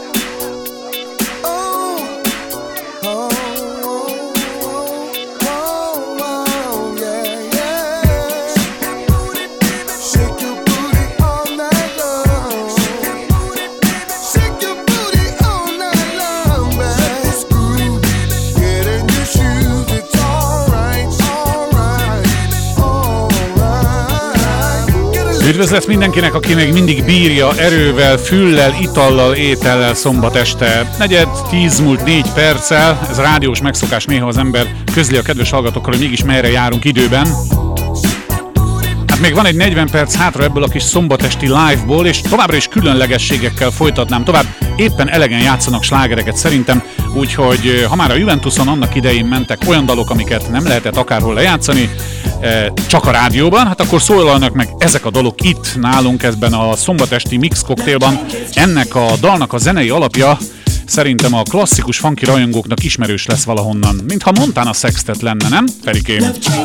Üdvözlet mindenkinek, aki még mindig bírja erővel, füllel, itallal, étellel szombat este. 9:10 múlt 4 perccel, ez rádiós megszokás, néha az ember közli a kedves hallgatókkal, hogy mégis merre járunk időben. Hát még van egy 40 perc hátra ebből a kis szombatesti live-ból, és továbbra is különlegességekkel folytatnám tovább. Éppen elegen játszanak slágereket szerintem, úgyhogy ha már a Juventuson annak idején mentek olyan dalok, amiket nem lehetett akárhol lejátszani, csak a rádióban, hát akkor szólalnak meg ezek a dalok itt nálunk ebben a szombatesti Mix Cocktailban. Ennek a dalnak a zenei alapja szerintem a klasszikus funky rajongóknak ismerős lesz valahonnan, mintha Montana Sextet lenne, nem, Ferikém?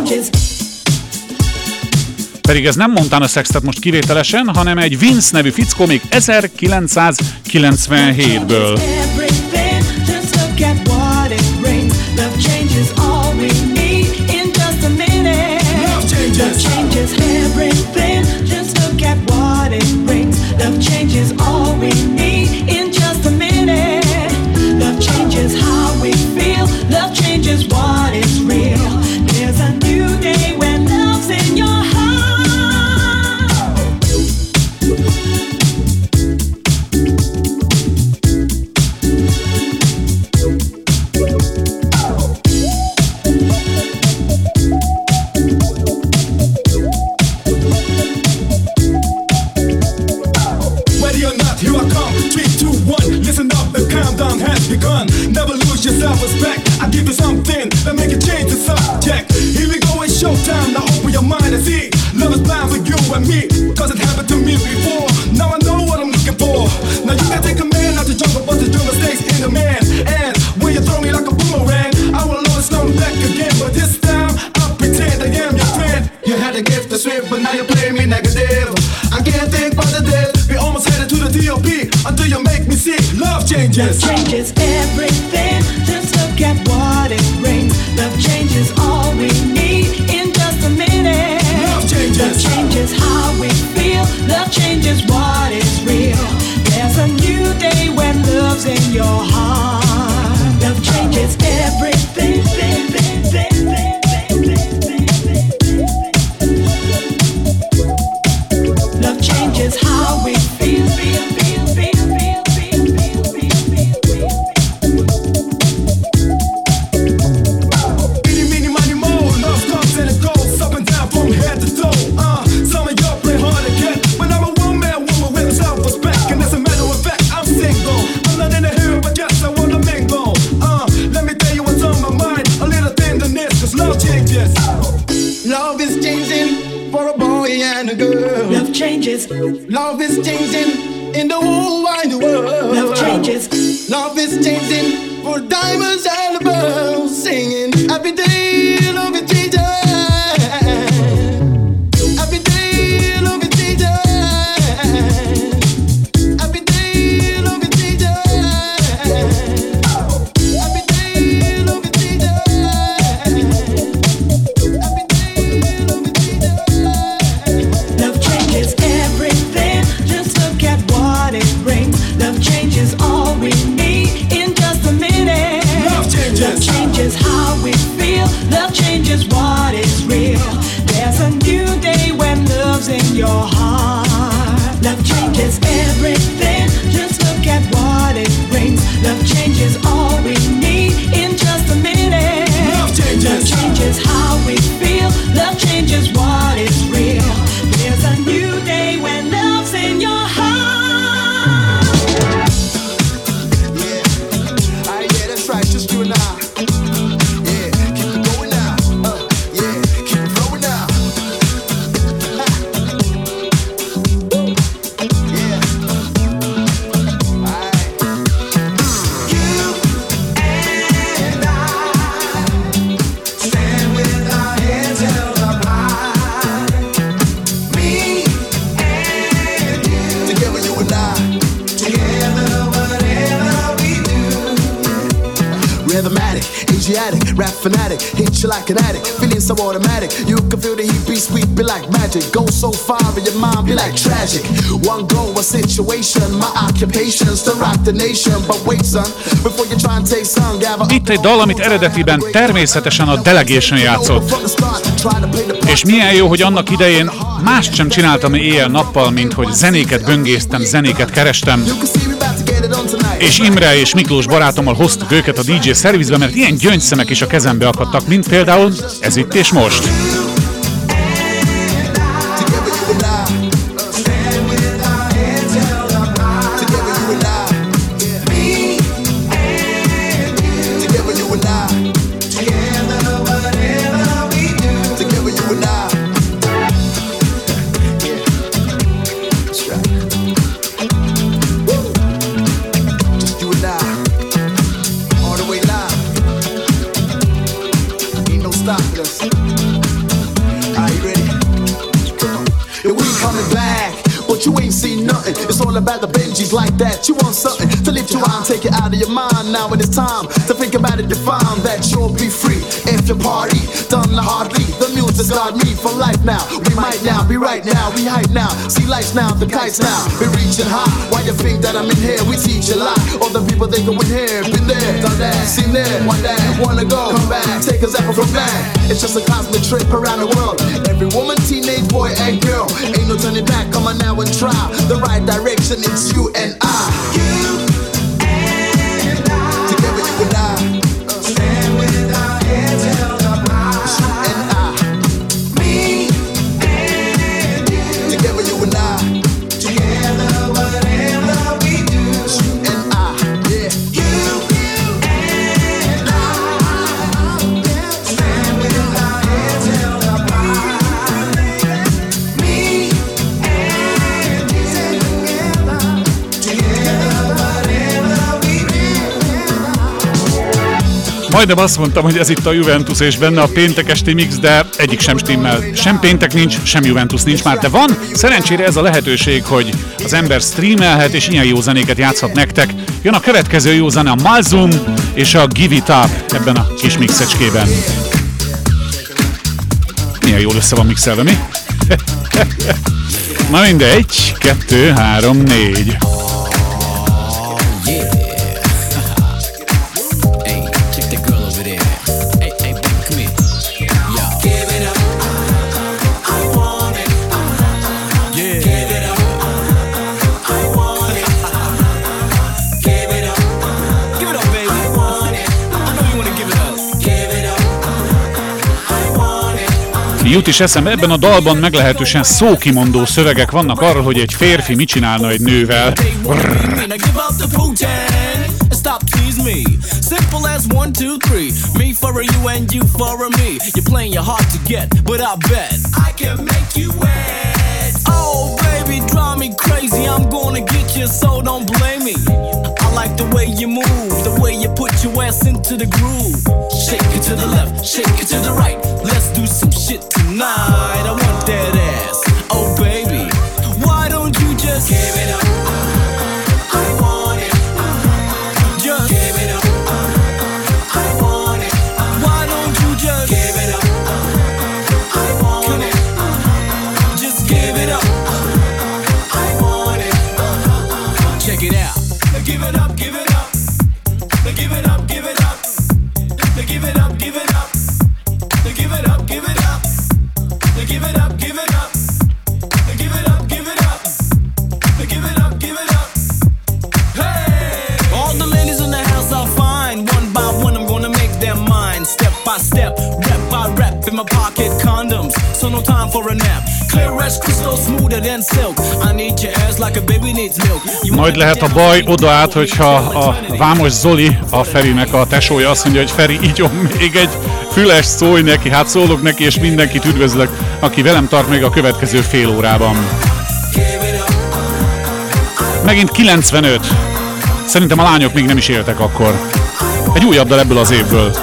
Pedig ez nem Montana Sextet most kivételesen, hanem egy Vince nevű fickó még 1997-ből. Love changes everything, just look at what it brings. Love changes all we need in just a minute. Love changes how we feel, love changes what is real. There's a new day when love's in your heart. Never lose your self-respect. I give you something that make you change the subject. Here we go, it's showtime. Now open your mind and see. Love is blind for you and me, cause it happened to me before. Now I know what I'm looking for. Now you can take a man out the jungle, but the jungle stays in the man. And when you throw me like a boomerang, I will always come back again. But this time, I'll pretend I am your friend. You had a gift to sweep, but now you play me negative. I can't think positive. We almost headed to the DOP until you make me see. Love changes. Love changes everything. Just look at what it brings. Love changes all we need in just a minute. Love changes. Love changes how we feel. Love changes what is real. There's a new day when love's in your heart. Love changes everything. Love changes how we feel. Love is changing for a boy and a girl. Love changes. Love is changing in the whole wide world. Love changes. Love is changing for diamonds and the pearls. Singing every day, love is changing. Every day, love is changing. Every day, love is changing. Every day, love is changing. Love changes everything. Just look at what it brings. Love changes all we need in just a minute. Love changes. Love changes how we feel. Love changes what is real. There's a new day when love's in your heart. Love changes everything. Just look at what it brings. Love changes all we need in just a minute. Love changes. Love changes how we feel. Love changes what is real. There's a new day when love's in your heart. Yeah, that's right. just you and I. Yeah, keep it going now. Yeah, keep it flowing now. Yeah. Alright. You and I stand with our heads held up high. Me and you, together you and I, together whatever we do. Rhythmatic, Asiatic, rap fanatic, hit you like an addict, feeling so automatic. You can feel the heat be sweet, be like magic. Go so far in your mind, be like tragic. One goal, a situation, my occupation's to rock the nation. But wait son, before you try and take some, gather. Itt egy dal, amit eredetiben természetesen a Delegation játszott. És milyen jó, hogy annak idején mást sem csináltam éjjel-nappal, mint hogy zenéket böngésztem, zenéket kerestem. És Imre és Miklós barátommal hoztuk őket a DJ szervizbe, mert ilyen gyöngyszemek is a kezembe akadtak, mint például ez itt és most. About the Benjis like that, you want something to lift you out and take it out of your mind. Now when it's time to think about it, define that you'll be free if you party, done the hardly. The music's got me for life now. We might now be right now, we hype now. See lights now, the kites now. We reaching high. Why you think that I'm in here? We teach a lot. All the people they go in here, been there, done that, seen there, one day, wanna go, come back, take us effort from back. It's just a cosmic trip around the world. Every woman, teenage boy, and girl, ain't no turning back. Come on now and try the right direction. It's you and I. You and I. Together you and I. Stand with our heads held up high. You and I. Me and you. Together you and I. Together whatever we do. You and I. Yeah. You and I. Stand with our heads held up high. Me and you. Majdnem azt mondtam, hogy ez itt a Juventus és benne a péntek esti mix, de egyik sem stimmel. Sem péntek nincs, sem Juventus nincs már, de van. Szerencsére ez a lehetőség, hogy az ember streamelhet és ilyen jó zenéket játszhat nektek. Jön a következő jó zene, a Malzum és a Give It Up ebben a kis mixecskében. Milyen jól össze van mixelve, mi? Na mindegy, 2, 3, 4. Jut is eszembe, ebben a dalban meglehetősen szókimondó szövegek vannak arról, hogy egy férfi mit csinálna egy nővel. Stop tease me. Simple as 1, 2, 3. Me for a you and you for a me. You're playing your hard to get, but I bet I can make you wet. Oh baby, drive me crazy. I'm gonna get you, so don't blame me. I like the way you move, the way you put your ass into the groove. Shake it to the left, shake it to the right. Let's do some shit tonight. I want that ass. Oh baby, why don't you just give it up? I want it. Just give it up. I want it. Why don't you just give it up? I want it. Just give it up. I want it. Check it out. Give it up, give it up. Give it up, give it up. Give it up, give it up. Give it up, give it up. Give it up, give it up. Give it up, give it up. Give it up, give it up. Hey! All the ladies in the house are fine. One by one, I'm gonna make them mine. Step by step, rep by rep, in my pocket condoms. so no time for a nap. Clear as crystal, smoother than silk. I need your ass like a baby needs milk. Majd lehet a baj oda át, hogyha a Vámos Zoli, a Ferinek a tesója azt mondja, hogy Feri, igyon még egy füles, szólj neki, hát szólok neki, és mindenkit üdvözlök, aki velem tart még a következő fél órában. Megint 95. Szerintem a lányok még nem is éltek akkor. Egy újabb dal ebből az évből.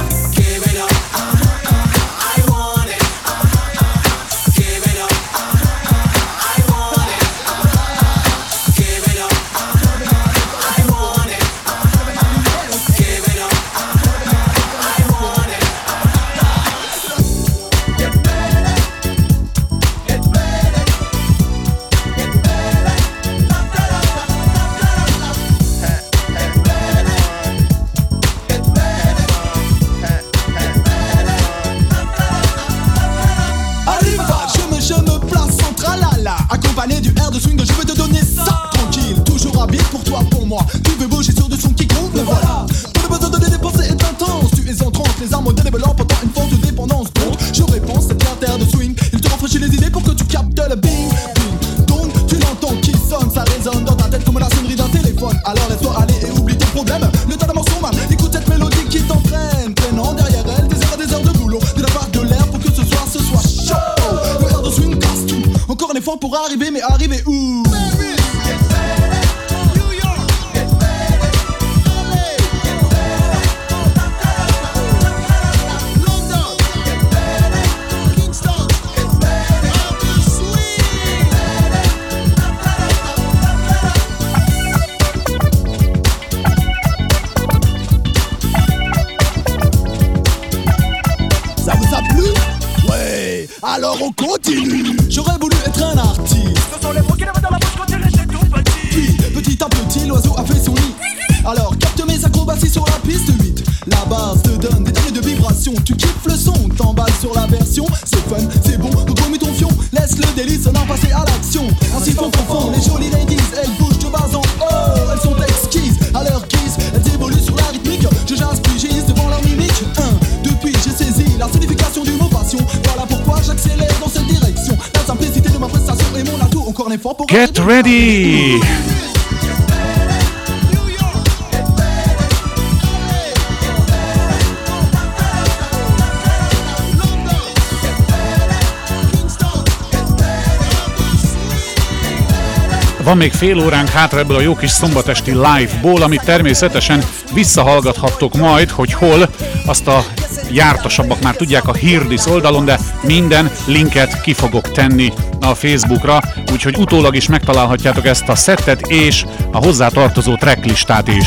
Pour arriver, mais arriver où? Ça vous a plu? Ouais, alors on continue. J'aurais voulu être un artiste. Ce sont les mots qui n'avaient dans la bouche quand il était tout petit. Puis, petit à petit, l'oiseau a fait son nid. Alors, capte mes acrobaties sur la piste 8. La base te donne des tonnes de vibrations. Tu kiffes le son, t'emballes sur la version. C'est fun, c'est bon, donc remets ton fion. Laisse le délice, on en passer à l'action. Ainsi font, les jolies ladies. Elles bougent de bas en haut, elles sont exquises. À leur guise, elles évoluent sur la rythmique. Je j'inspire devant leur mimique. Depuis, j'ai saisi la signification du mot passion. Voilà pourquoi j'accélère dans cette direction. La simplicité de ma prestation est mon atout. Encore un effort pour... Get ready! Van még fél óránk hátra ebből a jó kis szombatesti live-ból, amit természetesen visszahallgathattok majd, hogy hol, azt a jártasabbak már tudják a Hirdis oldalon, de minden linket ki fogok tenni a Facebookra, úgyhogy utólag is megtalálhatjátok ezt a szettet és a hozzá tartozó tracklistát is.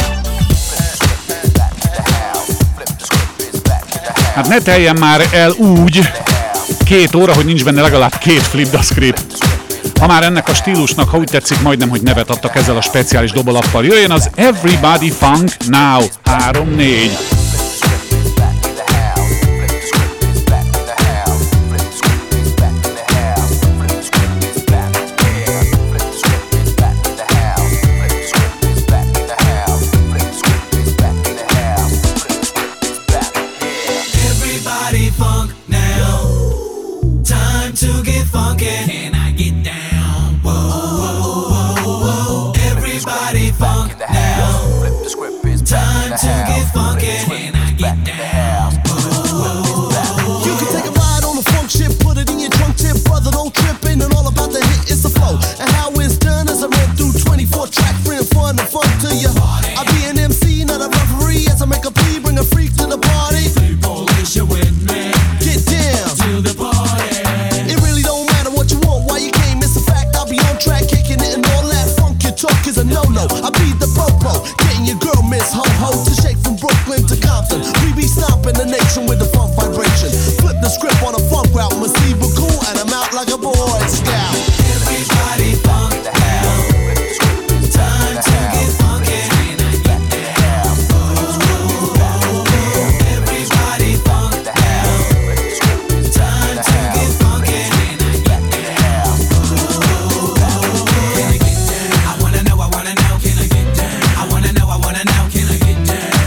Hát ne teljen már el úgy 2 óra, hogy nincs benne legalább 2 Flip the Script. Ha már ennek a stílusnak, ha úgy tetszik, majdnem, hogy nevet adtak ezzel a speciális dobolappal. Jöjjön az Everybody Funk Now 3-4.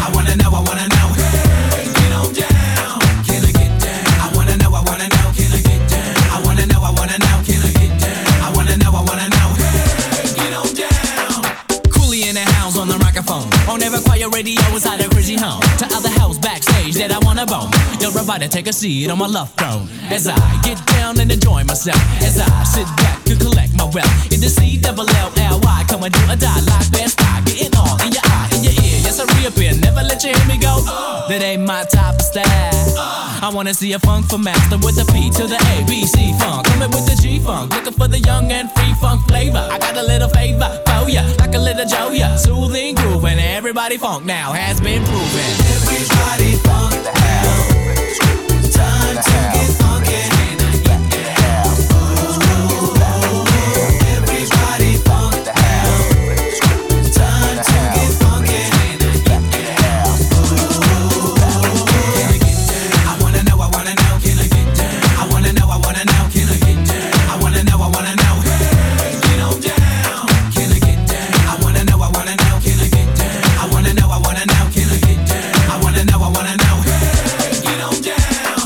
Can I get inside a crazy home. To other house backstage that I wanna bone. You're about to take a seat on my love throne. As I get down and enjoy myself. As I sit back and collect my wealth. In the C-double-L-L-Y, come and do a die like best I. Getting all in your eye, in your ear. Yes, I reappear, never let you hear me go. That ain't my type of style. I wanna see a funk for master with the P to the A, B, C funk. Coming with the G-funk, looking for the young and free funk flavor. I got a little favor for ya, like a little Joya. Soothing groove and everybody funk now has been proven. Everybody funk now. Time to get funky. Everybody funk now. Time to get funky. I wanna know, can I get down? I wanna know, can I get down? I wanna know, hey, get on down. Can I get down? I wanna know, can I get down? I wanna know, can I get down? I wanna know, hey, get on down.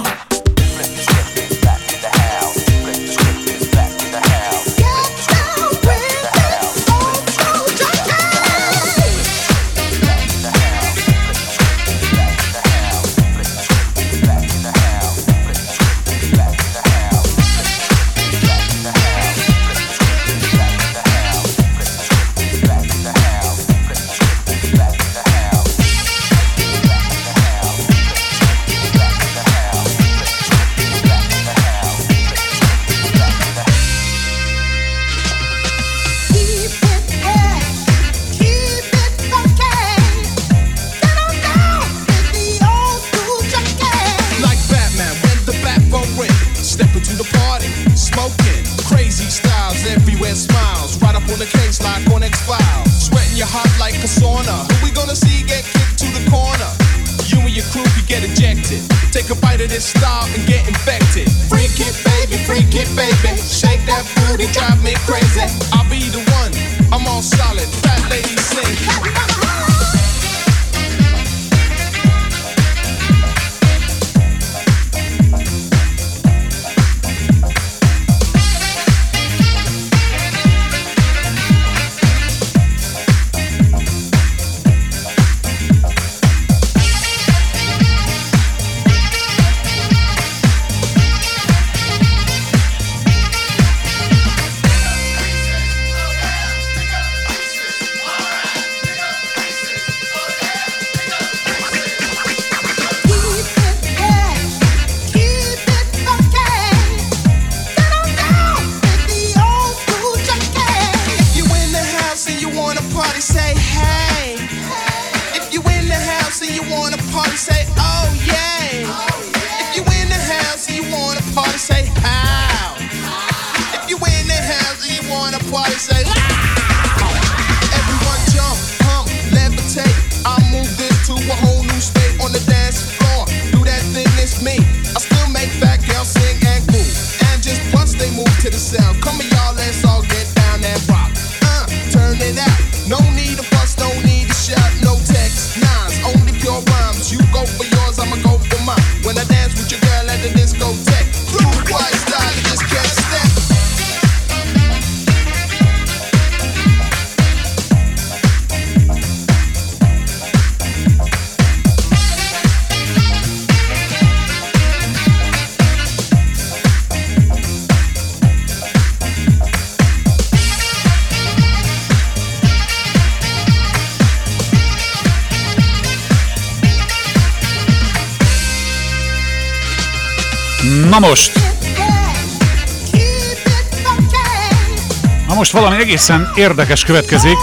Na most valami egészen érdekes következik.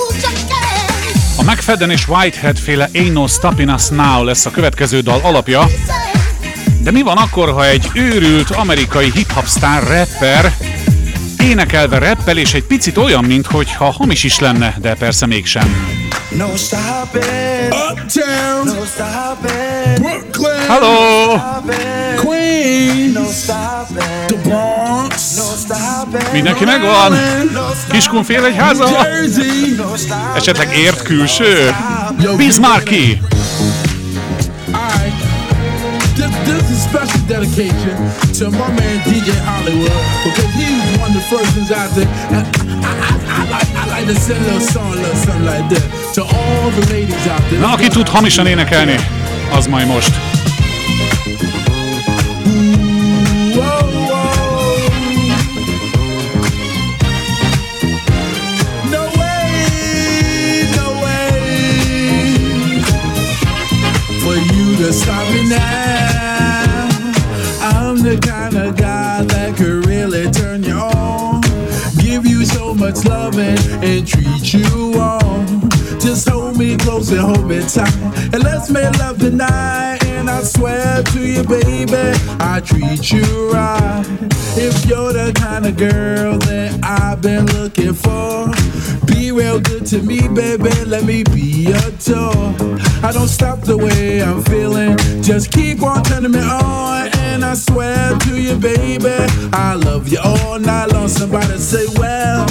A McFadden és Whitehead féle Ain't No Stopping Us Now lesz a következő dal alapja. De mi van akkor, ha egy őrült amerikai hip-hop sztár rapper énekelve rappel, és egy picit olyan, mintha hamis is lenne, de persze mégsem. No stopping. Uptown. No stopping. Brooklyn. Hello. Queens. No stopping. The Bronx. No stopping. Mindenki megvan? Kiskunfél egy háza? Esetleg ért külső? Bismarcky. This is special dedication to my man DJ Hollywood, because he was one of the first ones out there. I like to send a little song, little something like that to all the ladies out there. Na, aki tud hamisan énekelni, az majd most. To stop me now. I'm the kind of guy that could really turn you on, give you so much loving and treat you on. Just hold me close and hold me tight, and let's make love tonight. And I swear to you, baby, I treat you right. If you're the kind of girl that I've been looking for, be real good to me, baby, let me be your toy. I don't stop the way I'm feeling, just keep on turning me on. And I swear to you, baby, I love you all night long. Somebody say, well,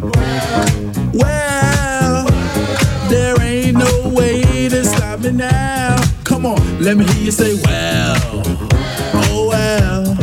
there ain't no way to stop me now. Come on, let me hear you say, well, oh well,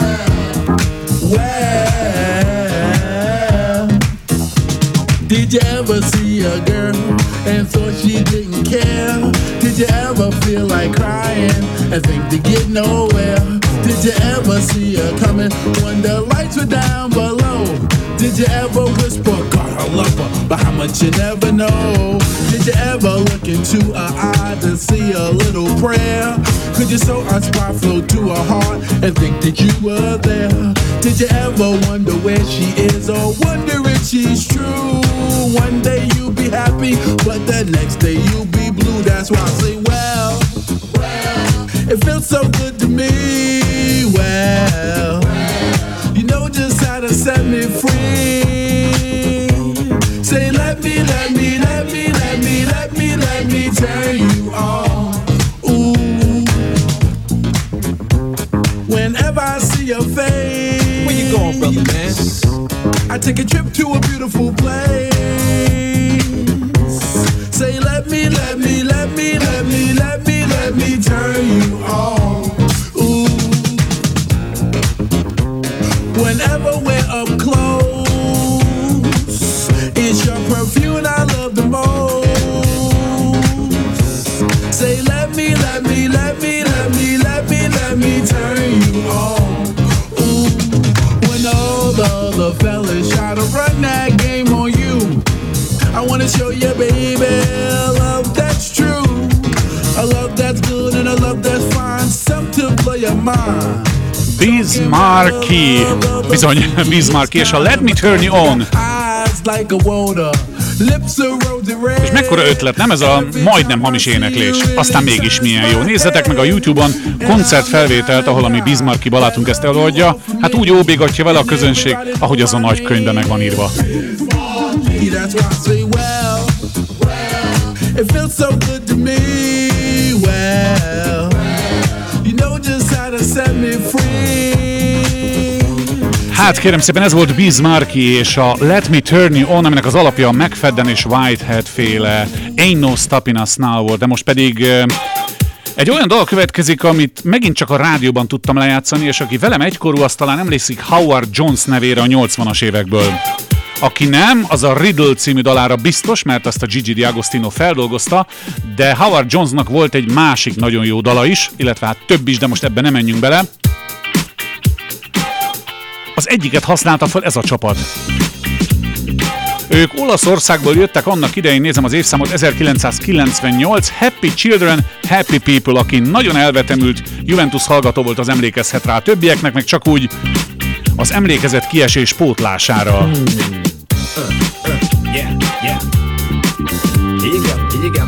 well. Did you ever see a girl and thought she didn't care? Did you ever feel like crying and think to get nowhere? Did you ever see her coming when the lights were down below? Did you ever whisper, God, I love her, but how much you never know? Did you ever look into her eye to see a little prayer? Could you saw a spark flow to her heart and think that you were there? Did you ever wonder where she is or wonder if she's true? One day you'll be happy, but the next day you'll be blue. That's why I say, well, it feels so good to me. Well, you know just how to set me free. Say, let me turn you on. Ooh. Whenever I see your face, where you going, brother man? I take a trip to a beautiful place. Say, let me turn you on. Ooh. Whenever we're up close, it's your perfume I love the most. Say, let me turn you on. Ooh. When all the other fellas try to run that game on you, I wanna show you, baby, a love that's true, a love that's good and a love that's fine, something to blow your mind. Biz Markie, bizony, Biz Markie, és a Let Me Turn You On. És mekkora ötlet, nem ez a majdnem hamis éneklés? Aztán mégis milyen jó. Nézzetek meg a YouTube-on koncertfelvételt, ahol a mi Biz Markie barátunk ezt előadja. Hát úgy óbégatja vele a közönség, ahogy az a nagy könyvben meg van írva. Hát kérem szépen, ez volt Biz Markie és a Let Me Turn You On, aminek az alapja a McFadden és Whitehead féle Ain't No Stopping Us Now volt, de most pedig egy olyan dal következik, amit megint csak a rádióban tudtam lejátszani, és aki velem egykorú, az talán emlékszik Howard Jones nevére a 80-as évekből. Aki nem, az a Riddle című dalára biztos, mert azt a Gigi D'Agostino feldolgozta, de Howard Jonesnak volt egy másik nagyon jó dala is, illetve hát több is, de most ebben nem menjünk bele. Az egyiket használta fel ez a csapat. Ők Olaszországból jöttek annak idején, nézem az évszámot, 1998, Happy Children, Happy People, aki nagyon elvetemült Juventus hallgató volt, az emlékezhet rá, többieknek meg csak úgy az emlékezett kiesés pótlására. Yeah, yeah. Here you go, here you go.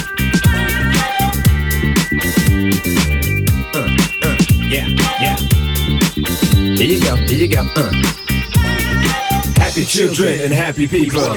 Yeah, yeah. Here you go, here you go. Happy children and happy people.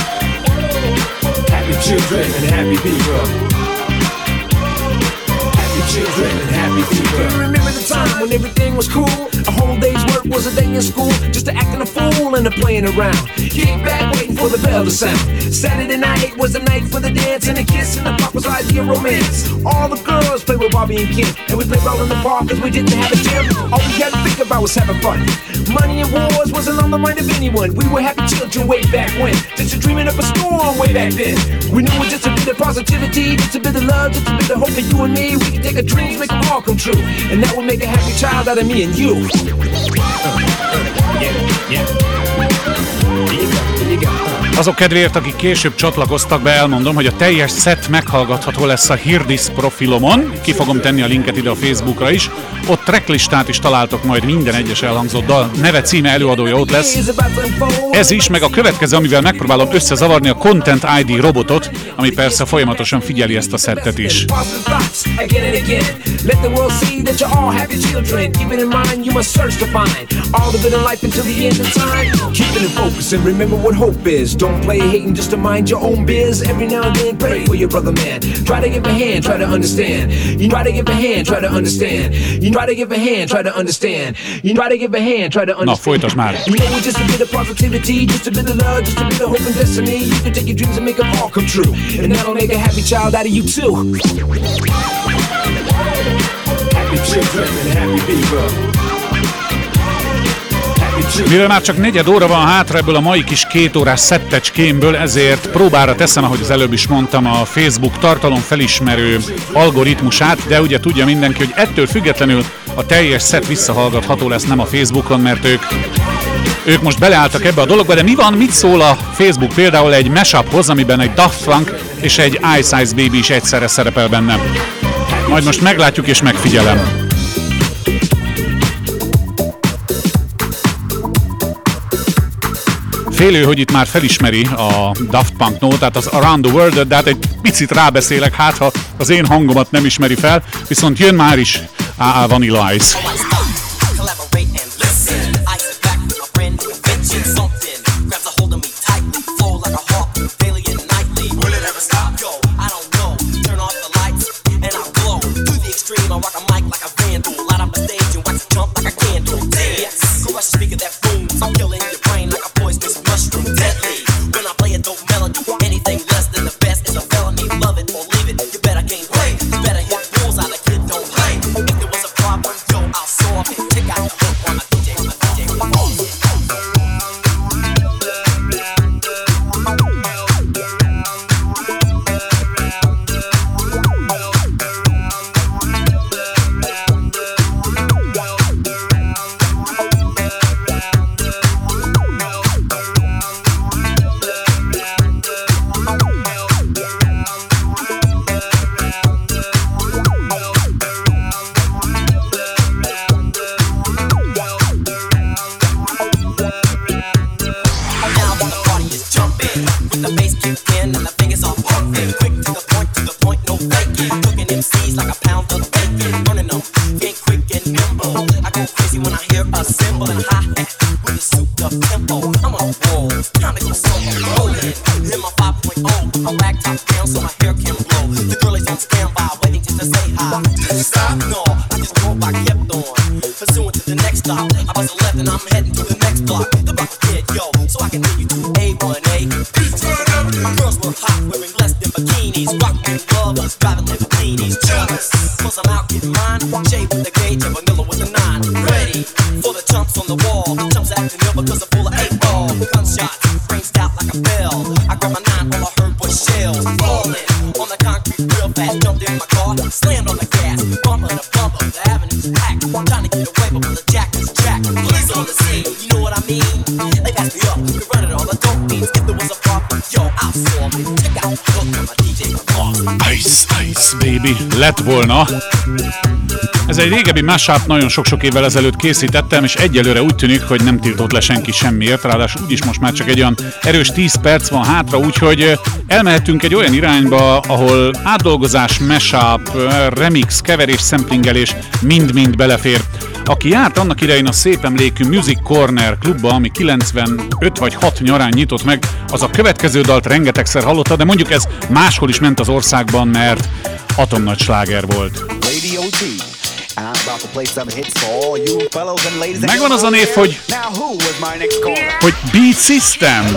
Happy children and happy people. Happy happy children and happy people. Remember the time when everything was cool? A whole day's work was a day in school, just acting a fool and playing around. Kick back, waiting for the bell to sound. Saturday night was the night for the dance, and the kiss and the pop was ideal romance. All the girls played with Bobby and Kim, and we played ball in the park cause we didn't have a gym. All we had to think about was having fun. Money and wars wasn't on the mind of anyone. We were happy children way back when, just a dreaming up a storm way back then. We knew it was just a bit of positivity, just a bit of love, just a bit of hope for you and me. We could take our dreams, make them all come true, and that would make a happy child out of me and you. Azok kedvéért, akik később csatlakoztak be, elmondom, hogy a teljes set meghallgatható lesz a Hirdis profilomon. Ki fogom tenni a linket ide a Facebookra is. Ott tracklistát is találtok majd minden egyes elhangzott dal. Neve, címe, előadója ott lesz. Ez is, meg a következő, amivel megpróbálom összezavarni a Content ID robotot, ami persze folyamatosan figyeli ezt a szettet is. Don't play hating just to mind your own biz. Every now and then pray for your brother man. Try to give a hand, try to understand. You try to give a hand, try to understand. You try to give a hand, try to understand. You try to give a hand, try to understand. Na, folytasd már. You know, just a bit of positivity, just a bit of love, just a bit of hope and destiny. You can take your dreams and make them all come true, and that'll make a happy child out of you too. Happy children and happy people. Mivel már csak 4 óra van hátra ebből a mai kis 2 órás szettecskémből, ezért próbára teszem, ahogy az előbb is mondtam, a Facebook tartalomfelismerő algoritmusát, de ugye tudja mindenki, hogy ettől függetlenül a teljes szett visszahallgatható lesz, nem a Facebookon, mert ők most beleálltak ebbe a dologba, de mi van, mit szól a Facebook például egy mashuphoz, amiben egy Daft Punk és egy Ice Ice Baby is egyszerre szerepel benne. Majd most meglátjuk és megfigyelem. Félő, hogy itt már felismeri a Daft Punk nótát, az Around the World, de hát egy picit rábeszélek, hát ha az én hangomat nem ismeri fel, viszont jön már is A.A. Vanilla Ice. Lett volna. Ez egy régebbi mashup, nagyon sok-sok évvel ezelőtt készítettem, és egyelőre úgy tűnik, hogy nem tiltott le senki semmiért, ráadásul úgyis most már csak egy olyan erős 10 perc van hátra, úgyhogy elmehetünk egy olyan irányba, ahol átdolgozás, mashup, remix, keverés, szemplingelés mind-mind belefér. Aki járt annak idején a szép emlékű Music Corner klubba, ami 95 vagy 6 nyarán nyitott meg, az a következő dalt rengetegszer hallotta, de mondjuk ez máshol is ment az országban, mert atomnagy sláger volt. Megvan az a név, hogy Beat System.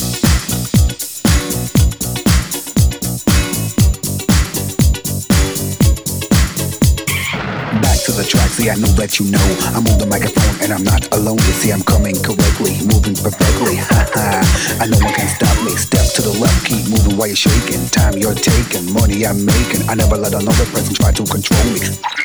To the track, see I know that you know I'm on the microphone and I'm not alone. You see I'm coming correctly, moving perfectly. Haha, I know one can stop me. Step to the left, keep moving while you're shaking. Time you're taking, money I'm making. I never let another person try to control me.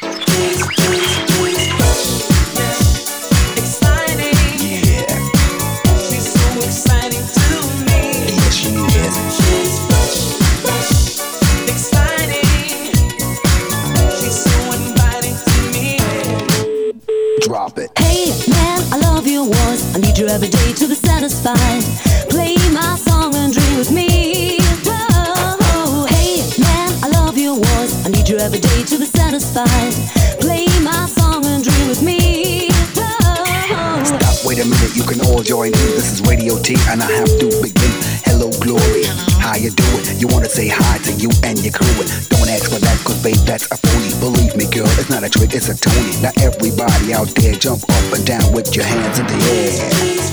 Drop it. Hey man, I love your voice. I need you every day to be satisfied. Play my song and dream with me. Whoa. Hey man, I love your voice. I need you every day to be satisfied. Play my song and dream with me. Whoa. Stop, wait a minute, you can all join in. This is Radio T and I have to begin. Hello, Glory. How you doing? You wanna say hi to you and your crew. Don't ask for that, cause babe, that's a phony. Believe me, girl, it's not a trick, it's a Tony. Now everybody out there, jump up and down with your hands in the air.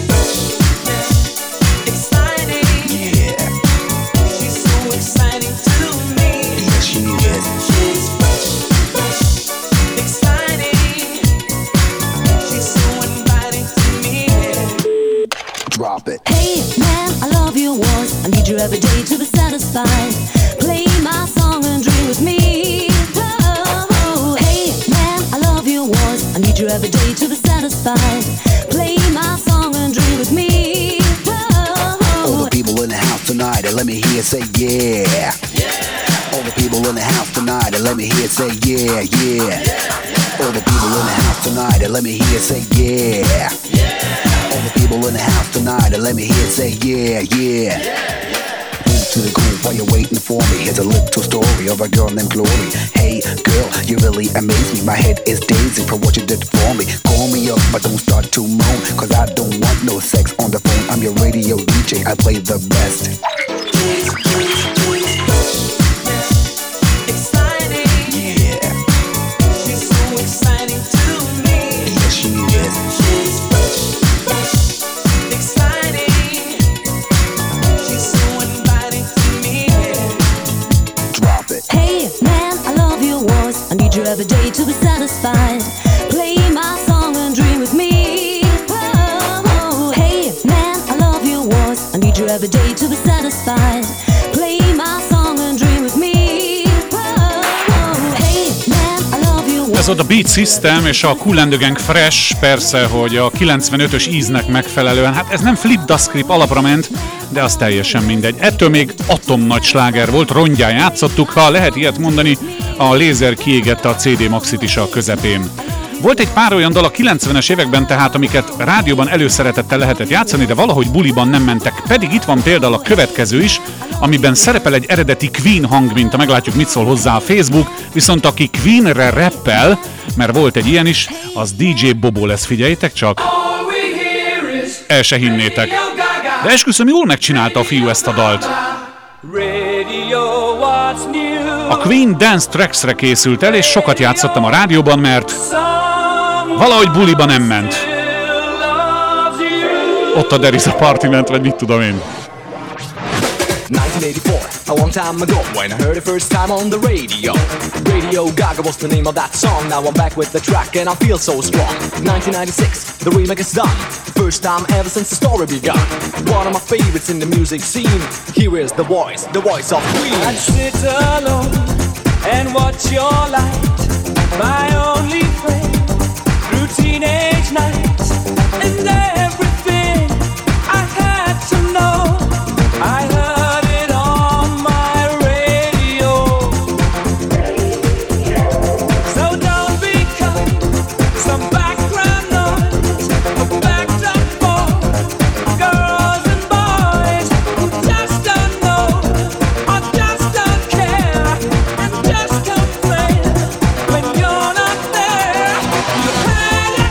Exciting. Yeah. She's so exciting to me. Yes, she is. She's exciting. She's so inviting to me. Drop it. Hey man, I love your voice. I need you every day to be satisfied. Play my song and dream with me. Whoa. Hey man, I love your voice. I need you every day to be satisfied. Play my song and dream with me. Whoa. All the people in the house tonight, and let me hear say yeah. Yeah. All the people in the house tonight, and let me hear say yeah, yeah. All the people in the house tonight, and let me hear say yeah. Yeah. All the people in the house tonight, and let me hear say yeah, yeah. Move to the groove while you're waiting for me. Here's a little story of a girl named Glory. Hey girl, you really amaze me. My head is dazing from what you did for me. Call me up, but don't start to moan, cause I don't want no sex on the phone. I'm your radio DJ, I play the best. Exciting. Yeah. She's so exciting to me. Yes, she is. She's exciting. She's so inviting to me. Drop it. Hey man, I love your voice. I need you every day to be satisfied. Play my song and dream with me. Whoa. Hey man, I love your voice. I need you every day to be satisfied. Play my song and dream with me. Whoa. Hey man, I love your voice. Ez ott a Beat System és a Kool and the Gang Fresh, persze, hogy a 95-ös íznek megfelelően, hát ez nem Flip the Script alapra ment, de az teljesen mindegy. Ettől még atomnagy sláger volt, rongyán játszottuk, ha lehet ilyet mondani, a lézer kiégette a CD Maxit is a közepén. Volt egy pár olyan dal a 90-es években tehát, amiket rádióban előszeretettel lehetett játszani, de valahogy buliban nem mentek. Pedig itt van például a következő is, amiben szerepel egy eredeti Queen hangminta, meglátjuk mit szól hozzá a Facebook, viszont aki Queenre rappel, mert volt egy ilyen is, az DJ Bobo lesz, figyeljétek csak. El se hinnétek. De esküszöm, jól megcsinálta a fiú ezt a dalt. A Queen Dance Tracks-re készült el, és sokat játszottam a rádióban, mert valahogy buliba nem ment. Ott a There is a Party ment, vagy mit tudom én. 1984, a long time ago, when I heard it first time on the radio. Radio Gaga was the name of that song. Now I'm back with the track and I feel so strong. 1996, the remake is done. The first time ever since the story begun. One of my favorites in the music scene. Here is the voice of Queen. I'd sit alone and watch your light, my only friend, through teenage nights and everything I had to know. I heard it on my radio. So don't become some background noise, a backdrop for girls and boys who just don't know or just don't care and just complain when you're not there. You had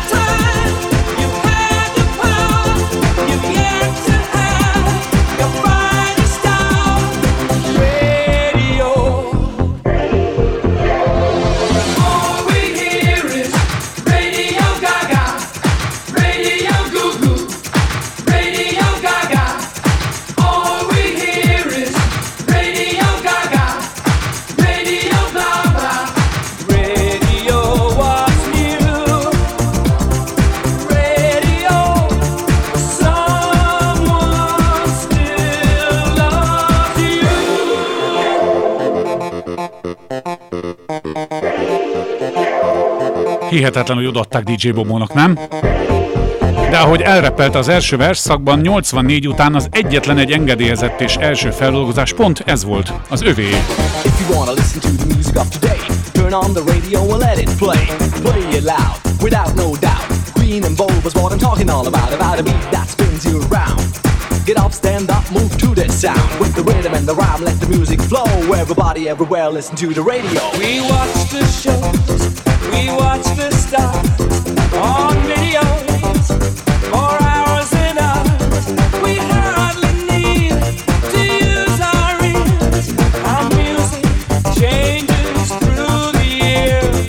Hihetetlenül odaadták DJ Bobónak, nem? De ahogy elreppelte az első versszakban, 84 után az egyetlen egy engedélyezett és első feldolgozás pont ez volt, az övé. If you wanna listen to the music of today, turn on the radio and let it play. Play it loud, without no doubt. Green and bold was what I'm talking all about a beat that spins you around. Get up, stand up, move to this sound. With the rhythm and the rhyme, let the music flow. Everybody, everywhere, listen to the radio. We watch the shows, we watch the stars on videos for hours and hours. We hardly need to use our ears. Our music changes through the years.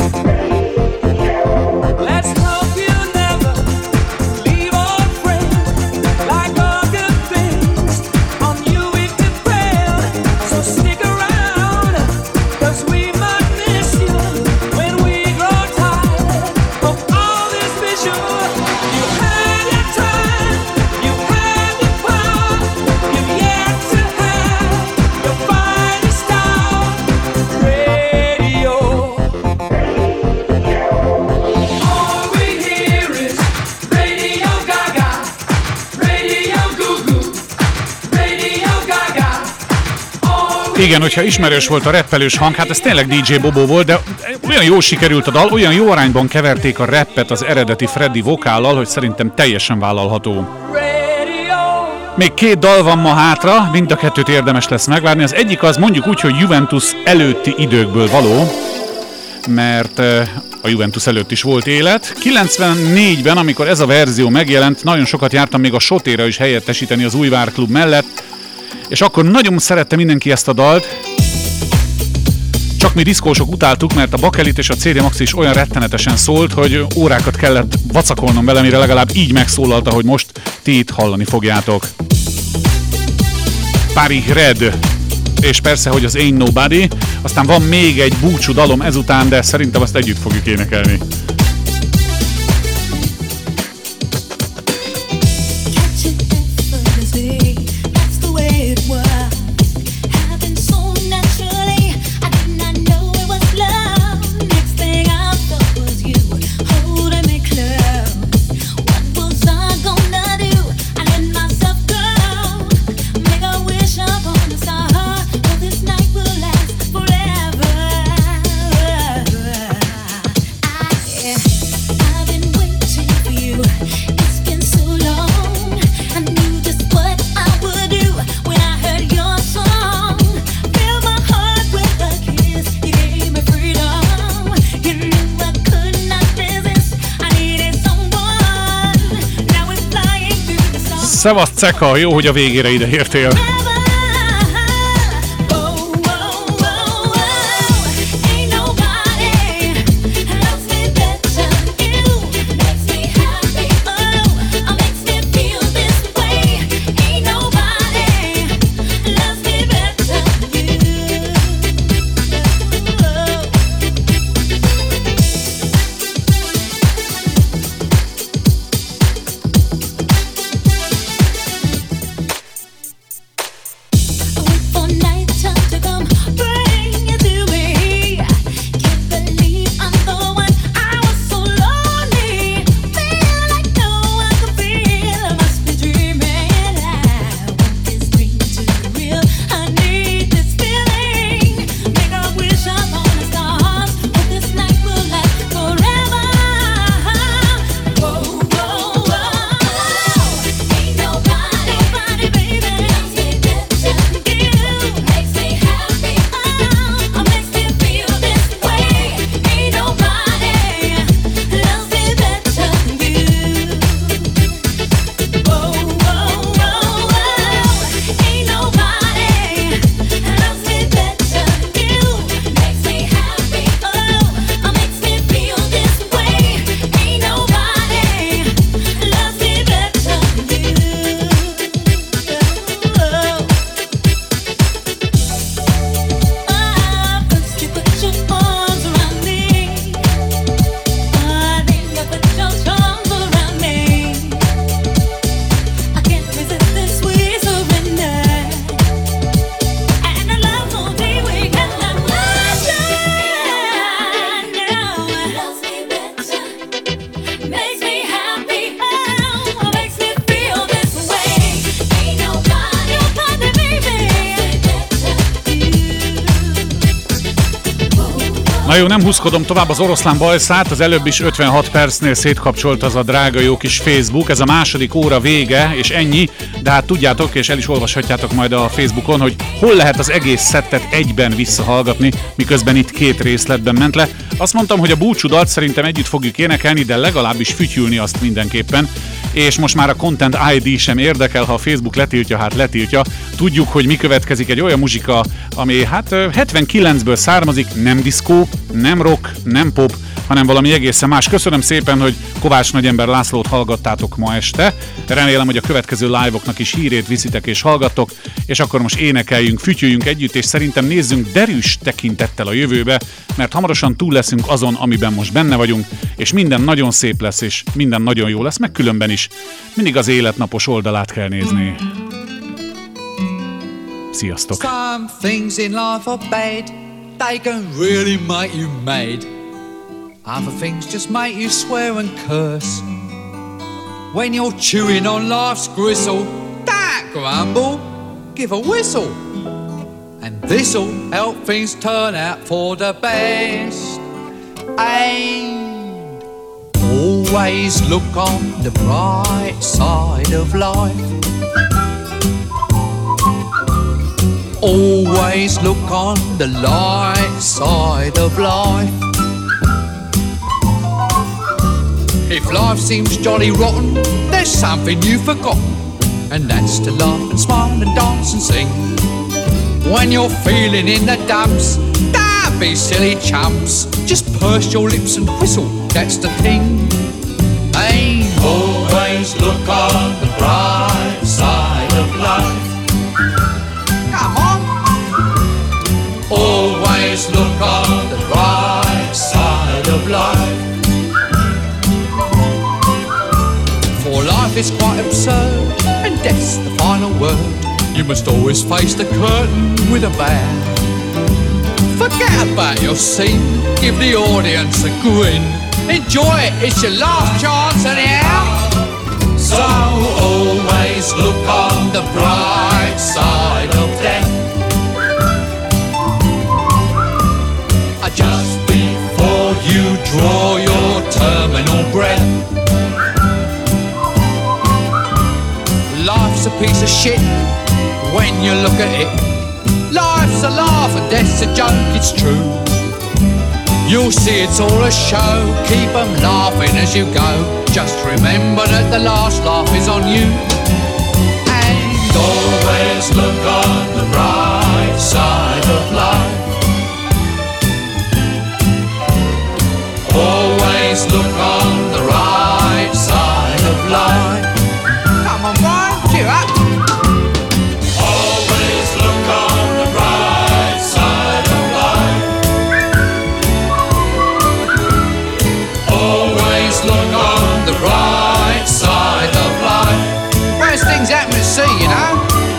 Let's hope you never leave our friends. Like all good things, on you it depends. So stick around, 'cause we might miss you when we grow tired of all this visual. You had your time, you had the power, you've yet to have your finest hour. Radio. All we hear is Radio Gaga, Radio Goo Goo, Radio Gaga. Igen, hogyha ismerős volt a rappelős hang, hát ez tényleg DJ Bobo volt, de olyan jól sikerült a dal, olyan jó arányban keverték a rappet az eredeti Freddy vokállal, hogy szerintem teljesen vállalható. Még 2 dal van ma hátra, mind a 2-t érdemes lesz megvárni. Az egyik az mondjuk úgy, hogy Juventus előtti időkből való, mert a Juventus előtt is volt élet. 94-ben, amikor ez a verzió megjelent, nagyon sokat jártam még a Sotéra is helyettesíteni az Újvár Klub mellett, és akkor nagyon szerette mindenki ezt a dalt, csak mi diszkósok utáltuk, mert a Bakelit és a CD Maxi is olyan rettenetesen szólt, hogy órákat kellett vacakolnom vele, mire legalább így megszólalt, ahogy most ti itt hallani fogjátok. Paris Red, és persze, hogy az Ain't Nobody, aztán van még egy búcsú dalom ezután, de szerintem azt együtt fogjuk énekelni. Szevasz, Ceka, jó, hogy a végére ide értél. Na jó, nem húzkodom tovább az oroszlán bajszát, az előbb is 56 percnél szétkapcsolt az a drága jó kis Facebook, ez a második óra vége, és ennyi, de hát tudjátok, és el is olvashatjátok majd a Facebookon, hogy hol lehet az egész szettet egyben visszahallgatni, miközben itt 2 részletben ment le. Azt mondtam, hogy a búcsúdalt szerintem együtt fogjuk énekelni, de legalábbis fütyülni azt mindenképpen, és most már a Content ID sem érdekel, ha a Facebook letiltja, hát letiltja. Tudjuk, hogy mi következik, egy olyan muzsika, ami hát 79-ből származik, nem diszkó, nem rock, nem pop, hanem valami egészen más. Köszönöm szépen, hogy Kovács Nagyember Lászlót hallgattátok ma este. Remélem, hogy a következő live-oknak is hírét viszitek és hallgattok, és akkor most énekeljünk, fütyüljünk együtt, és szerintem nézzünk derűs tekintettel a jövőbe, mert hamarosan túl leszünk azon, amiben most benne vagyunk, és minden nagyon szép lesz, és minden nagyon jó lesz, meg különben is. Mindig az életnapos oldalát kell nézni. Sziasztok! Some things in life are bad, they can really make you mad. Other things just make you swear and curse. When you're chewing on life's gristle, don't grumble, give a whistle. And this'll help things turn out for the best. And always look on the bright side of life. Always look on the light side of life. If life seems jolly rotten, there's something you've forgotten, and that's to laugh and smile and dance and sing. When you're feeling in the dumps, don't be silly chumps, just purse your lips and whistle, that's the thing. Hey, always look on the bright side of life. Come on. Always look on the bright side of life. For life is quite absurd, and death's the final word. You must always face the curtain with a bow. Forget about your scene, give the audience a grin. Enjoy it, it's your last chance anyhow. So always look on the bright side of death. Just before you draw your terminal breath. Life's a piece of shit when you look at it. Life's a laugh and death's a joke, it's true. You'll see it's all a show, keep 'em laughing as you go. Just remember that the last laugh is on you. And always look on the bright side of life. Always look on the right side of life. Come on, Brian, cheer up. Always look on the right side of life. Always look on the right side of life. Worst things happen at sea, you know.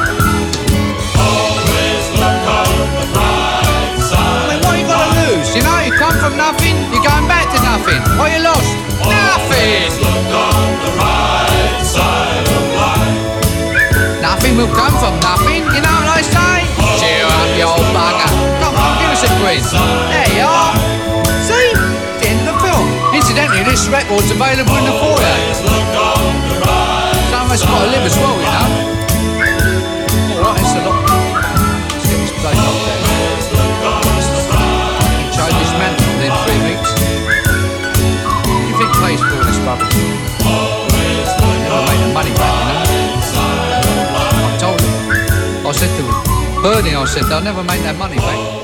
Always look on the right side. I mean, what you got to lose? You know, you come from nothing, you're going back to nothing. What you lost? Nothing. Look on the right side of life. Nothing will come from nothing. You know what I say? Cheer up, you old bugger. Come on, give us a quiz. There you are. See? The end of the film. Incidentally, this record's available in the foyer. Someone's got to live as well, you know. All right, it's a lot. Let's get this place up there. Change this man within 3 weeks. You think pays for all this rubbish? Never made the money back, you know. I told him. I said to him, Bernie, I said, they'll never make that money back.